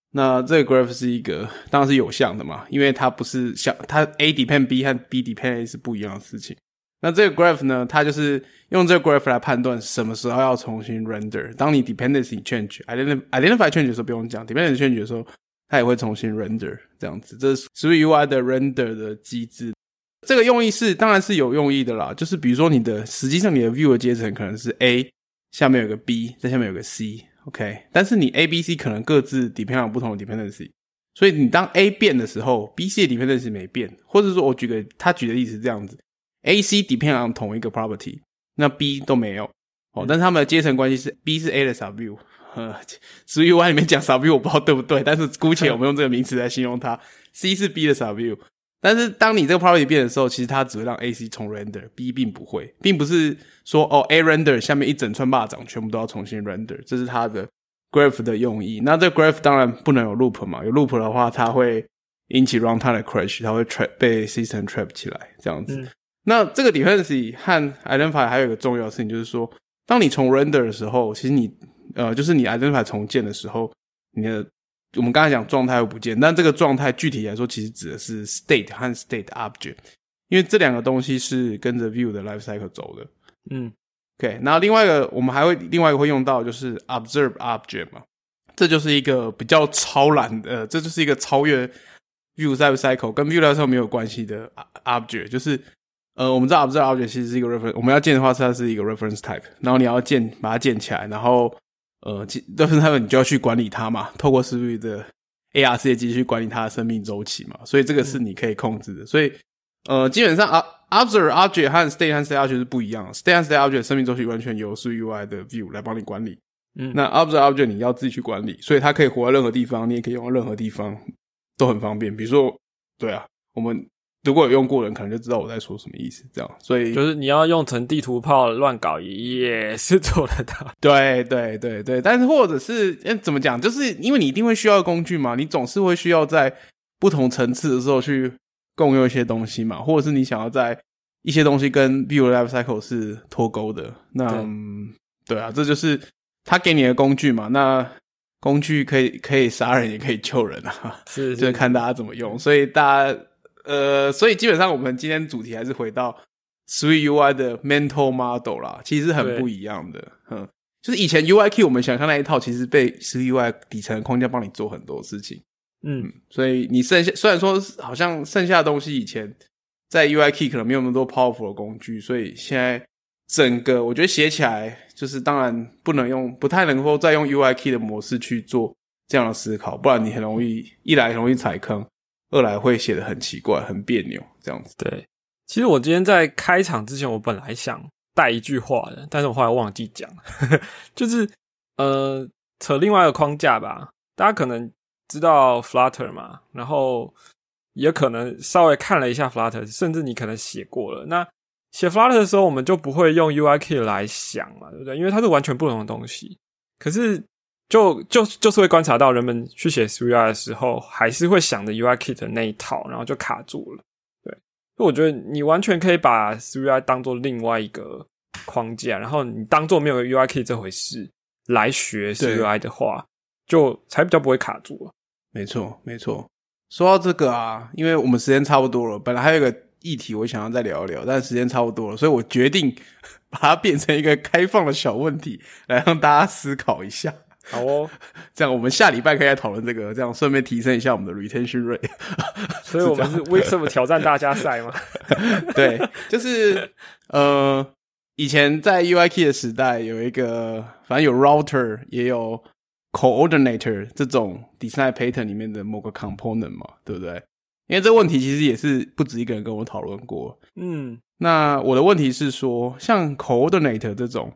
那这个 graph 是一个当然是有项的嘛，因为它不是像它 A depend B 和 B depend A 是不一样的事情。那这个 graph 呢，它就是用这个 graph 来判断什么时候要重新 render。当你 dependency change identify change 的时候不用讲， dependency change 的时候它也会重新 render 这样子。这是 Swift U I 的 render 的机制。这个用意是当然是有用意的啦，就是比如说你的实际上你的 view 的阶层可能是 A 下面有个 B 在下面有个 C OK， 但是你 A、B、C 可能各自 depend on 不同的 dependency， 所以你当 A 变的时候 B、C 的 dependency 没变，或者说我举个他举的例子是这样子， A、C depend on 同一个 property， 那 B 都没有哦，但是他们的阶层关系是 B 是 A 的 subview， 呃 Swift U I 里面讲 subview 我不知道对不对，但是姑且我们用这个名词来形容它C 是 B 的 subview， 但是当你这个 property 变的时候，其实它只会让 A、C 重 render， B 并不会，并不是说哦 A render 下面一整串蚂蚱全部都要重新 render， 这是它的 graph 的用意。那这个 graph 当然不能有 loop 嘛，有 loop 的话它会引起 runtime 的 crash， 它会 trap 被 system trap 起来这样子、嗯、那这个 dependency 和 identify 还有一个重要的事情，就是说当你重 render 的时候，其实你呃就是你 identify 重建的时候，你的我们刚才讲状态会不见，但这个状态具体来说其实指的是 state 和 state object， 因为这两个东西是跟着 view 的 life cycle 走的。嗯 OK， 那另外一个我们还会另外一个会用到就是 observe object 嘛，这就是一个比较超懒的、呃、这就是一个超越 view life cycle 跟 view life cycle 没有关系的 object， 就是呃我们知道 observe object 其实是一个 reference， 我们要建的话它是一个 reference type， 然后你要建把它建起来，然后呃 reference type 你就要去管理它嘛，透过 Swift 的 A R C 的机器去管理它的生命周期嘛，所以这个是你可以控制的，所以呃基本上 observe object 和 state 和 state object 是不一样的， state 和 state object 生命周期完全由 Swift U I 的 view 来帮你管理，嗯，那 observe object 你要自己去管理，所以它可以活在任何地方，你也可以用在任何地方，都很方便。比如说对啊，我们如果有用过的人可能就知道我在说什么意思，这样，所以就是你要用成地图炮乱搞也是做得到。 对对对对，但是或者是怎么讲，就是因为你一定会需要工具嘛，你总是会需要在不同层次的时候去共用一些东西嘛，或者是你想要在一些东西跟 view life cycle 是脱钩的，那 对,、嗯、对啊，这就是他给你的工具嘛，那工具可以可以杀人也可以救人啊，是, 是就是看大家怎么用，所以大家呃，所以基本上我们今天主题还是回到 Swift U I 的 mental model 啦，其实很不一样的，嗯，就是以前 U I Key 我们想象那一套其实被 Swift U I 底层的框架帮你做很多事情，嗯, 嗯，所以你剩下虽然说好像剩下的东西以前在 U I Key 可能没有那么多 powerful 的工具，所以现在整个我觉得写起来就是当然不能用不太能够再用 U I Key 的模式去做这样的思考，不然你很容易一来很容易踩坑，二来会写得很奇怪很别扭这样子。 对，其实我今天在开场之前我本来想带一句话的，但是我后来忘记讲就是呃扯另外一个框架吧，大家可能知道 Flutter 嘛，然后也可能稍微看了一下 Flutter， 甚至你可能写过了，那写 Flutter 的时候我们就不会用 U I Kit 来想嘛，对不对？因为它是完全不同的东西，可是就就就是会观察到人们去写 Swift U I 的时候还是会想着 U I Kit 的那一套，然后就卡住了。对，所以我觉得你完全可以把 Swift U I 当作另外一个框架，然后你当作没有 U I Kit 这回事来学 Swift U I 的话，就才比较不会卡住了。 没错没错，说到这个啊，因为我们时间差不多了，本来还有一个议题我想要再聊一聊，但时间差不多了，所以我决定把它变成一个开放的小问题来让大家思考一下。 好哦， 这样我们下礼拜可以来讨论这个，这样顺便提升一下我们的 retention rate。 所以我们是 Wixom 挑战大家赛吗？ 对，就是呃，以前在 U I Key 的时代有一个，反正有 router 也有 coordinator 这种 design pattern 里面的某个 component 嘛，对不对？因为这个问题其实也是不止一个人跟我讨论过。嗯，那我的问题是说，像 coordinator 这种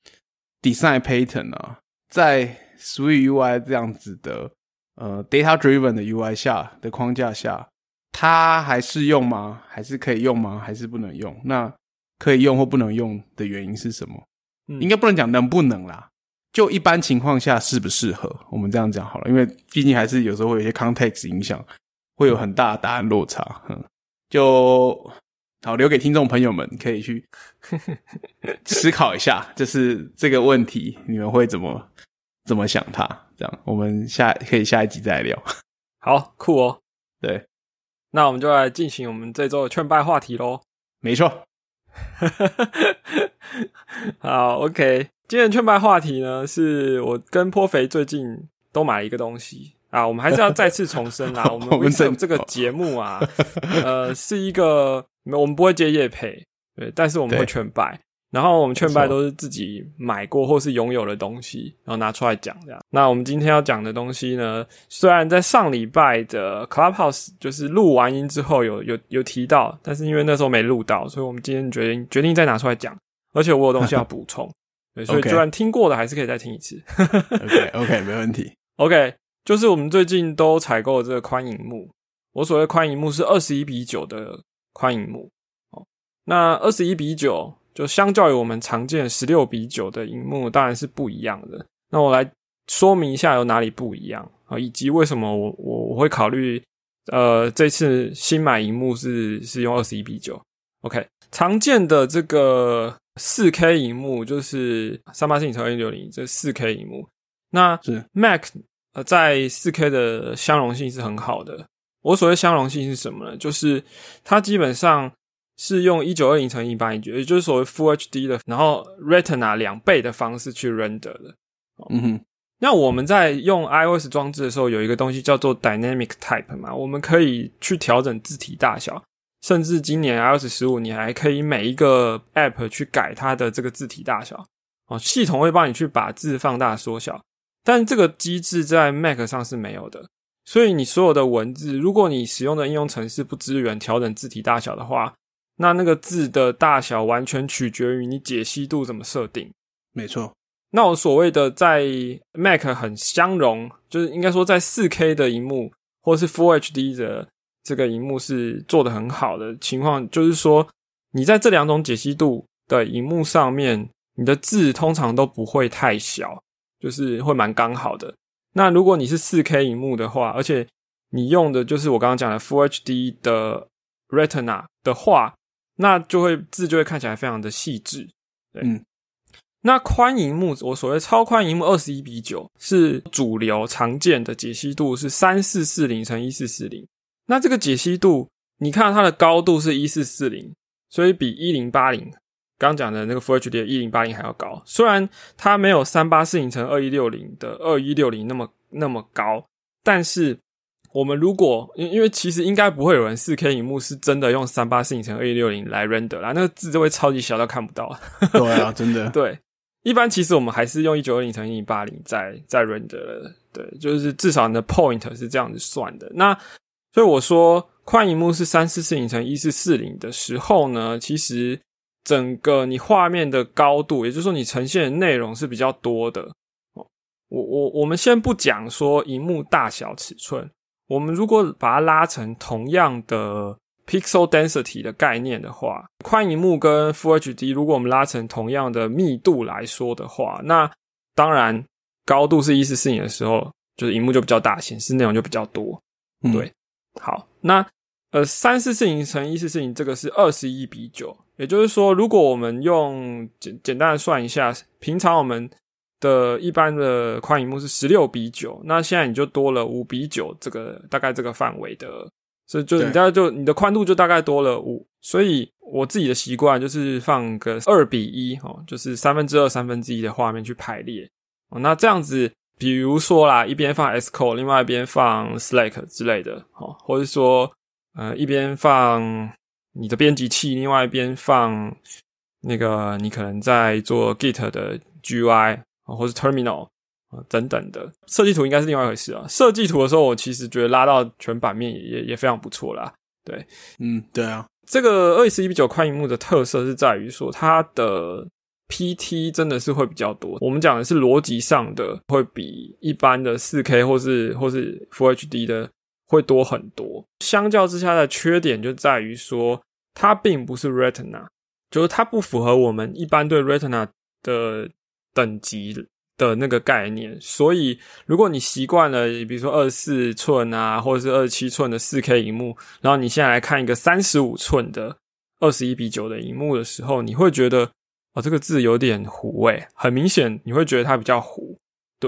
design pattern 啊，在 Swift U I 这样子的呃 data driven 的 U I 下的框架下，它还适用吗？还是可以用吗？还是不能用？那可以用或不能用的原因是什么？嗯，应该不能讲能不能啦，就一般情况下适不适合，我们这样讲好了，因为毕竟还是有时候会有一些 context 影响，会有很大的答案落差。嗯，就好留给听众朋友们可以去思考一下，就是这个问题你们会怎么怎么想它。这样我们下可以下一集再来聊。 好酷哦。 对， 那我们就来进行我们这周的劝败话题咯。 没错。 好 OK， 今天的劝败话题呢，是我跟颇肥最近都买了一个东西啊，我们还是要再次重申啦，我们 Wingstop 这个节目啊，呃，是一个我们不会接业配，对，但是我们会劝败，然后我们劝败都是自己买过或是拥有的东西，然后拿出来讲这样。那我们今天要讲的东西呢，虽然在上礼拜的 Clubhouse 就是录完音之后有有有提到，但是因为那时候没录到，所以我们今天决定决定再拿出来讲，而且我有东西要补充，对，所以就算听过的还是可以再听一次。 OK OK 没问题。 OK， 就是我们最近都采购的这个宽萤幕，我所谓宽萤幕是二十一比九的宽萤幕，哦，那二十一比九就相较于我们常见十六比九的萤幕当然是不一样的。那我来说明一下有哪里不一样，以及为什么我我我会考虑呃这次新买萤幕是是用二十一比九。OK， 常见的这个 四K 萤幕就是三八四零乘二一六零这 四K 萤幕，那 Mac 呃在 四K 的相容性是很好的。我所谓相容性是什么呢？就是它基本上是用一九二零乘一八零，也就是所谓 Full H D 的，然后 Retina 两倍的方式去 render 的。 嗯哼。 那我们在用 iOS 装置的时候，有一个东西叫做 Dynamic Type 嘛，我们可以去调整字体大小，甚至今年 iOS 十五你还可以每一个 App 去改它的这个字体大小。哦，系统会帮你去把字放大缩小，但这个机制在 Mac 上是没有的。所以你所有的文字，如果你使用的应用程式不支援调整字体大小的话，那那个字的大小完全取决于你解析度怎么设定。 没错。 那我所谓的在 Mac 很相容，就是应该说在 四K 的萤幕或是 Full H D 的这个萤幕是做得很好的情况，就是说你在这两种解析度的萤幕上面，你的字通常都不会太小，就是会蛮刚好的。那如果你是 四K 萤幕的话，而且你用的就是我刚刚讲的 Full H D 的 Retina 的话，那就会字就会看起来非常的细致。对。 嗯。 那宽萤幕，我所谓超宽萤幕二十一比九是主流常见的解析度是三四四零乘一四四零。那这个解析度，你看它的高度是一四四零，所以比一零八零刚讲的那个 Full H D 的一零八零还要高。虽然它没有三八四零乘二一六零的二一六零那么那么高，但是我们如果因为其实应该不会有人 四K 萤幕是真的用三八四零乘二一六零来 render 啦，那个字就会超级小到看不到。 对啊，真的。 对。一般其实我们还是用一九二零乘一零八零在在 render 的，对，就是至少你的 point 是这样子算的。那所以我说宽萤幕是三四四零乘一四四零的时候呢，其实整个你画面的高度，也就是说你呈现的内容是比较多的。我我我们先不讲说萤幕大小尺寸，我们如果把它拉成同样的Pixel Density 的概念的话，宽萤幕跟 Full H D 如果我们拉成同样的密度来说的话，那当然高度是一四四零的时候，就是萤幕就比较大，显示内容就比较多。 嗯、 对，好，那呃三四四零乘一四四零这个是二十一比九，也就是说如果我们用简简单的算一下，平常我们的一般的宽萤幕是十六比九，那现在你就多了五比九，这个大概这个范围的，所以就你大概就你的宽度就大概多了五，所以我自己的习惯就是放个二比一哦，就是三分之二三分之一的画面去排列哦。那这样子，比如说啦，一边放 Xcode， 另外一边放 Slack 之类的哦，或者说呃一边放你的编辑器，另外一边放那个你可能在做 Git 的 G U I 哦，或是 Terminal。等等的设计图应该是另外一回事啊。设计图的时候，我其实觉得拉到全版面也也也非常不错啦。对， 嗯，对啊。 这个二十一比九宽萤幕的特色是在于说，它的 P T 真的是会比较多。我们讲的是逻辑上的，会比一般的 四K 或是或是 Full H D 的会多很多。相较之下的缺点就在于说，它并不是 Retina， 就是它不符合我们一般对 Retina 的等级的那个概念，所以如果你习惯了比如说二十四寸啊或者是二十七寸的 四K 萤幕，然后你现在来看一个三十五寸的二十一比九的萤幕的时候，你会觉得哦这个字有点糊诶，很明显你会觉得它比较糊。对，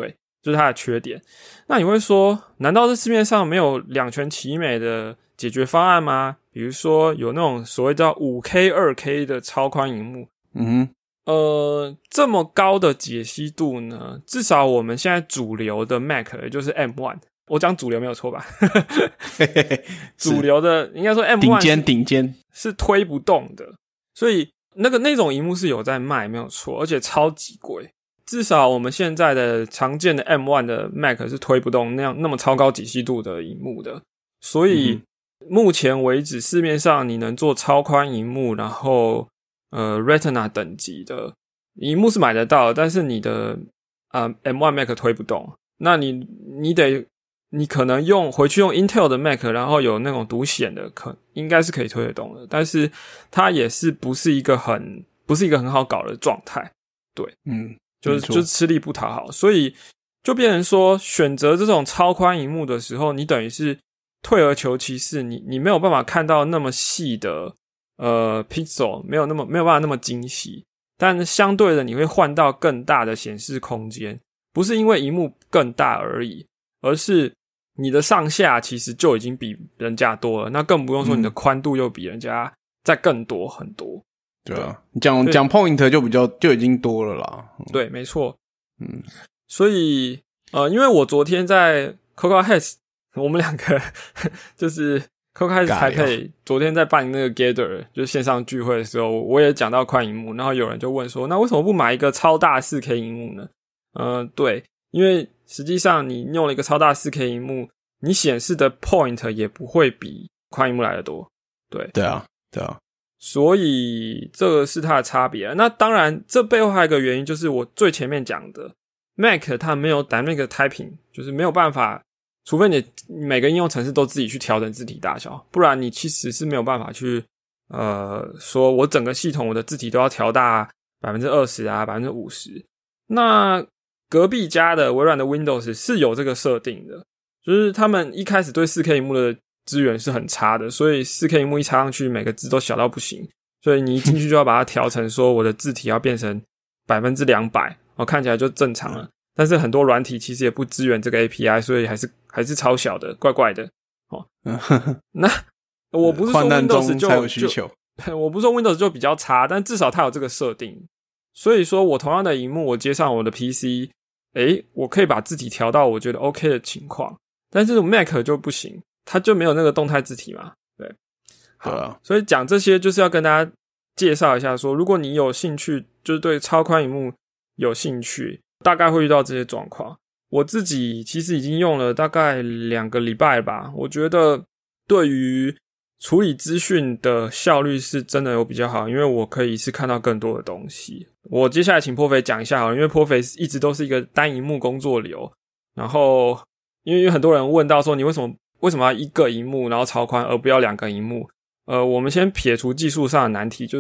就是它的缺点。那你会说，难道是市面上没有两全其美的解决方案吗？比如说有那种所谓叫 五 K 二 K 的超宽萤幕， 嗯哼， 呃，这么高的解析度呢，至少我们现在主流的 Mac 也就是 M 一， 我讲主流没有错吧？主流的应该说 M 一顶尖顶尖是推不动的，所以那个那种萤幕是有在卖没有错，而且超级贵。至少我们现在的常见的 M 一 的 Mac 是推不动那样那么超高解析度的萤幕的，所以、嗯、目前为止市面上你能做超宽萤幕，然后呃 Retina 等级的萤幕是买得到的，但是你的呃 M 一 Mac 推不动，那你你得你可能用回去用 Intel 的 Mac， 然后有那种独显的，可应该是可以推得动的，但是它也是不是一个很不是一个很好搞的状态，对， 嗯， 就是就是吃力不讨好，所以就变成说选择这种超宽萤幕的时候，你等于是退而求其次，你你没有办法看到那么细的呃 pixel， 没有那么没有办法那么精细，但相对的你会换到更大的显示空间，不是因为萤幕更大而已，而是你的上下其实就已经比人家多了，那更不用说你的宽度又比人家再更多很多。 对啊，讲讲 point 就比较就已经多了啦。 嗯、对，没错。 嗯， 所以呃，因为我昨天在 Cocoa Heads， 我们两个就是 Cocoa Heads 台北昨天在办那个 Gather， 就是线上聚会的时候，我也讲到宽萤幕，然后有人就问说，那为什么不买一个超大 四 K 萤幕呢？呃，对，因为实际上你用了一个超大 四 K 萤幕，你显示的 point 也不会比宽萤幕来得多。对， 对啊，对啊。 所以这个是它的差别。那当然这背后还有一个原因，就是我最前面讲的 Mac 它没有 Dynamic Typing， 就是没有办法，除非你每个应用程式都自己去调整字体大小，不然你其实是没有办法去呃说我整个系统我的字体都要调大 百分之二十 啊 百分之五十。那隔壁家的微软的 Windows 是有这个设定的，就是他们一开始对 四 K 萤幕的资源是很差的，所以 四 K 萤幕一插上去每个字都小到不行，所以你一进去就要把它调成说我的字体要变成 百分之两百， 哦，看起来就正常了。但是很多软体其实也不支援这个 A P I， 所以还是还是超小的，怪怪的。哦，那我不是说 Windows 就才有需求， 就我不是说 Windows 就比较差，但至少它有这个设定。所以说我同样的萤幕我接上我的 P C， 诶，我可以把字体调到我觉得 OK 的情况，但是 Mac 就不行，它就没有那个动态字体嘛。对，好， 对啊， 所以讲这些就是要跟大家介绍一下说，如果你有兴趣，就是对超宽萤幕有兴趣，大概会遇到这些状况。我自己其实已经用了大概两个礼拜吧，我觉得对于处理资讯的效率是真的有比较好，因为我可以是看到更多的东西。我接下来请颇肥讲一下好了，因为颇肥一直都是一个单萤幕工作流，然后因为很多人问到说你为什么为什么要一个萤幕然后超宽而不要两个萤幕。呃，我们先撇除技术上的难题，就是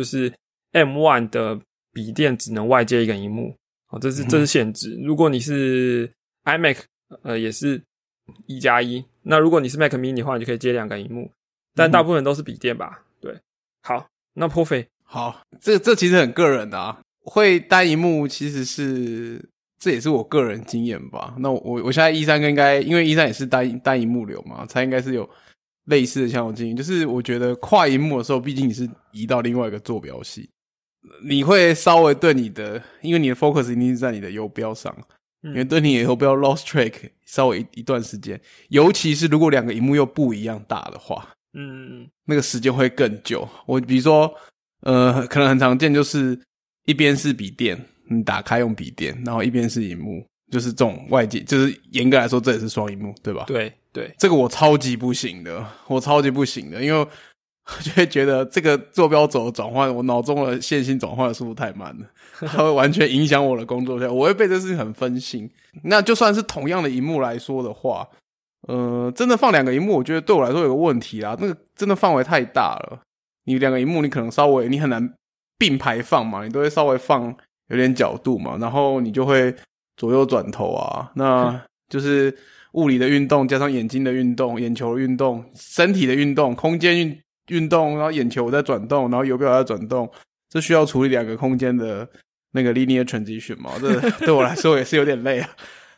M 一 的笔电只能外接一个萤幕，好，这是这是限制。如果你是 iMac， 呃，也是一加一。那如果你是 Mac mini 的话，你就可以接两个萤幕，但大部分都是笔电吧？对，好，那颇肥， 好，这这其实很个人的啊。会单萤幕其实是这也是我个人经验吧。那我我现在一三应该因为一三也是单单萤幕流嘛，他应该是有类似的相同经验，就是我觉得跨萤幕的时候，毕竟你是移到另外一个坐标系，你会稍微对你的，因为你的 focus 一定是在你的游标上，嗯、因为对你的游标 lost track 稍微 一, 一段时间，尤其是如果两个萤幕又不一样大的话， 嗯，那个时间会更久。我比如说，呃，可能很常见就是一边是笔电，你打开用笔电，然后一边是萤幕，就是这种外界，就是严格来说这也是双萤幕，对吧？ 对对， 这个我超级不行的，我超级不行的，因为我就会觉得这个坐标轴的转换，我脑中的线性转换的速度太慢了，它会完全影响我的工作效率，我会被这事情很分心。那就算是同样的萤幕来说的话，呃，真的放两个萤幕，我觉得对我来说有个问题啦，那个真的范围太大了。你两个萤幕，你可能稍微你很难并排放嘛，你都会稍微放有点角度嘛，然后你就会左右转头啊，那就是物理的运动加上眼睛的运动、眼球的运动、身体的运动、空间运运动，然后眼球在转动，然后游标在转动，这需要处理两个空间的那个 linear transition 嘛，这对我来说也是有点累啊。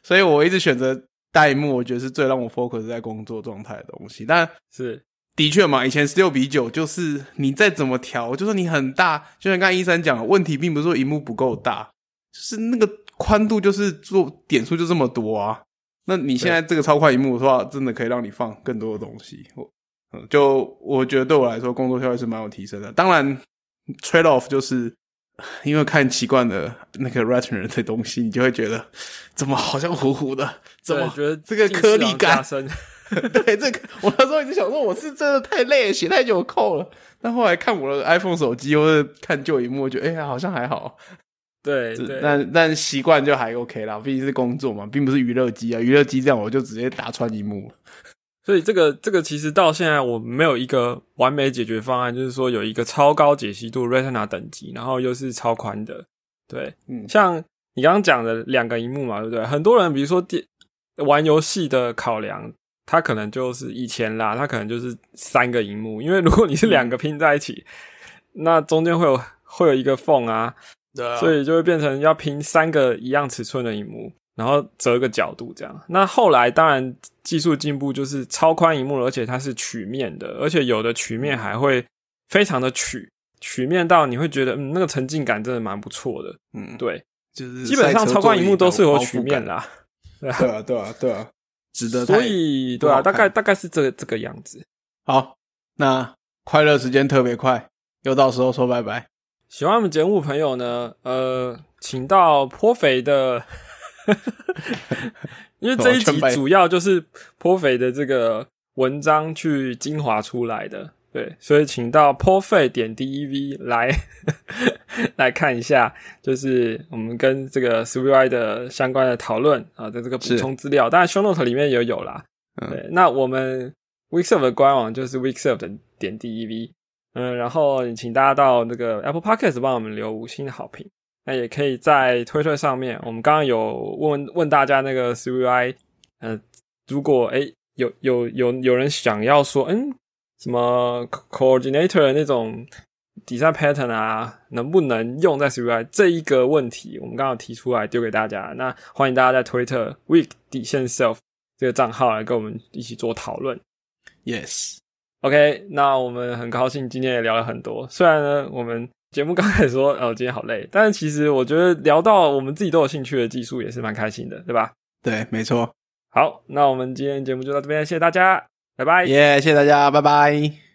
所以我一直选择大萤幕，我觉得是最让我 focus 在工作状态的东西。但是的确嘛，以前十六比九就是你再怎么调，就算你很大，就像刚才一三讲的，问题并不是说萤幕不够大，就是那个宽度就是做点数就这么多啊。那你现在这个超宽萤幕的话，真的可以让你放更多的东西。我嗯，就我觉得对我来说，工作效率是蛮有提升的。当然 ，trade off 就是因为看习惯了那个 Retina 的东西，你就会觉得怎么好像糊糊的，怎么觉得这个颗粒感？对，这个我那时候一直想说，我是真的太累了，写太久扣了。但后来看我的 iPhone 手机或者看旧萤幕，我觉得哎、欸，好像还好。 对对， 但但习惯就还 OK 啦，毕竟是工作嘛，并不是娱乐机啊。娱乐机这样我就直接打穿萤幕了。 所以这个这个其实到现在我没有一个完美解决方案，就是说有一个超高解析度 Retina 等级，然后又是超宽的。对，嗯，像你刚刚讲的两个萤幕嘛，对不对？很多人比如说玩游戏的考量，他可能就是以前啦，他可能就是三个萤幕，因为如果你是两个拼在一起，嗯、那中间会有会有一个缝啊。 对啊， 所以就会变成要拼三个一样尺寸的萤幕，然后折个角度这样。那后来当然技术进步，就是超宽萤幕，而且它是曲面的，而且有的曲面还会非常的曲，曲面到你会觉得嗯那个沉浸感真的蛮不错的。嗯，对， 就是基本上超宽萤幕都是有曲面啦。 对啊，对啊，对啊，对啊，值得。 所以对啊，大概大概是这个这个样子。 好，那快乐时间特别快，又到时候说拜拜。 喜欢我们节目朋友呢，呃，请到颇肥的，因为这一集主要就是颇肥的这个文章去精华出来的，对，所以请到颇肥点 D E V 来来看一下，就是我们跟这个 S V Y 的相关的讨论啊的这个补充资料，当然 show note 里面也有啦。嗯、对，那我们 Weeksurf 的官网就是 Weeksurf 的点 D E V。嗯，然后请大家到那个 Apple Podcast 帮我们留五星的好评。那也可以在推特上面，我们刚刚有问问大家那个 S V Y， 呃，如果诶有有有有人想要说，嗯，什么 coordinator 的那种 design pattern 啊，能不能用在 S V Y 这一个问题，我们刚刚提出来丢给大家。那欢迎大家在推特 week 底线 self 这个账号来跟我们一起做讨论。 Yes。OK， 那我们很高兴今天也聊了很多，虽然呢我们节目刚开始说哦今天好累，但是其实我觉得聊到我们自己都有兴趣的技术也是蛮开心的，对吧？ 对，没错。 好，那我们今天节目就到这边，谢谢大家，拜拜。 耶、yeah, 谢谢大家，拜拜。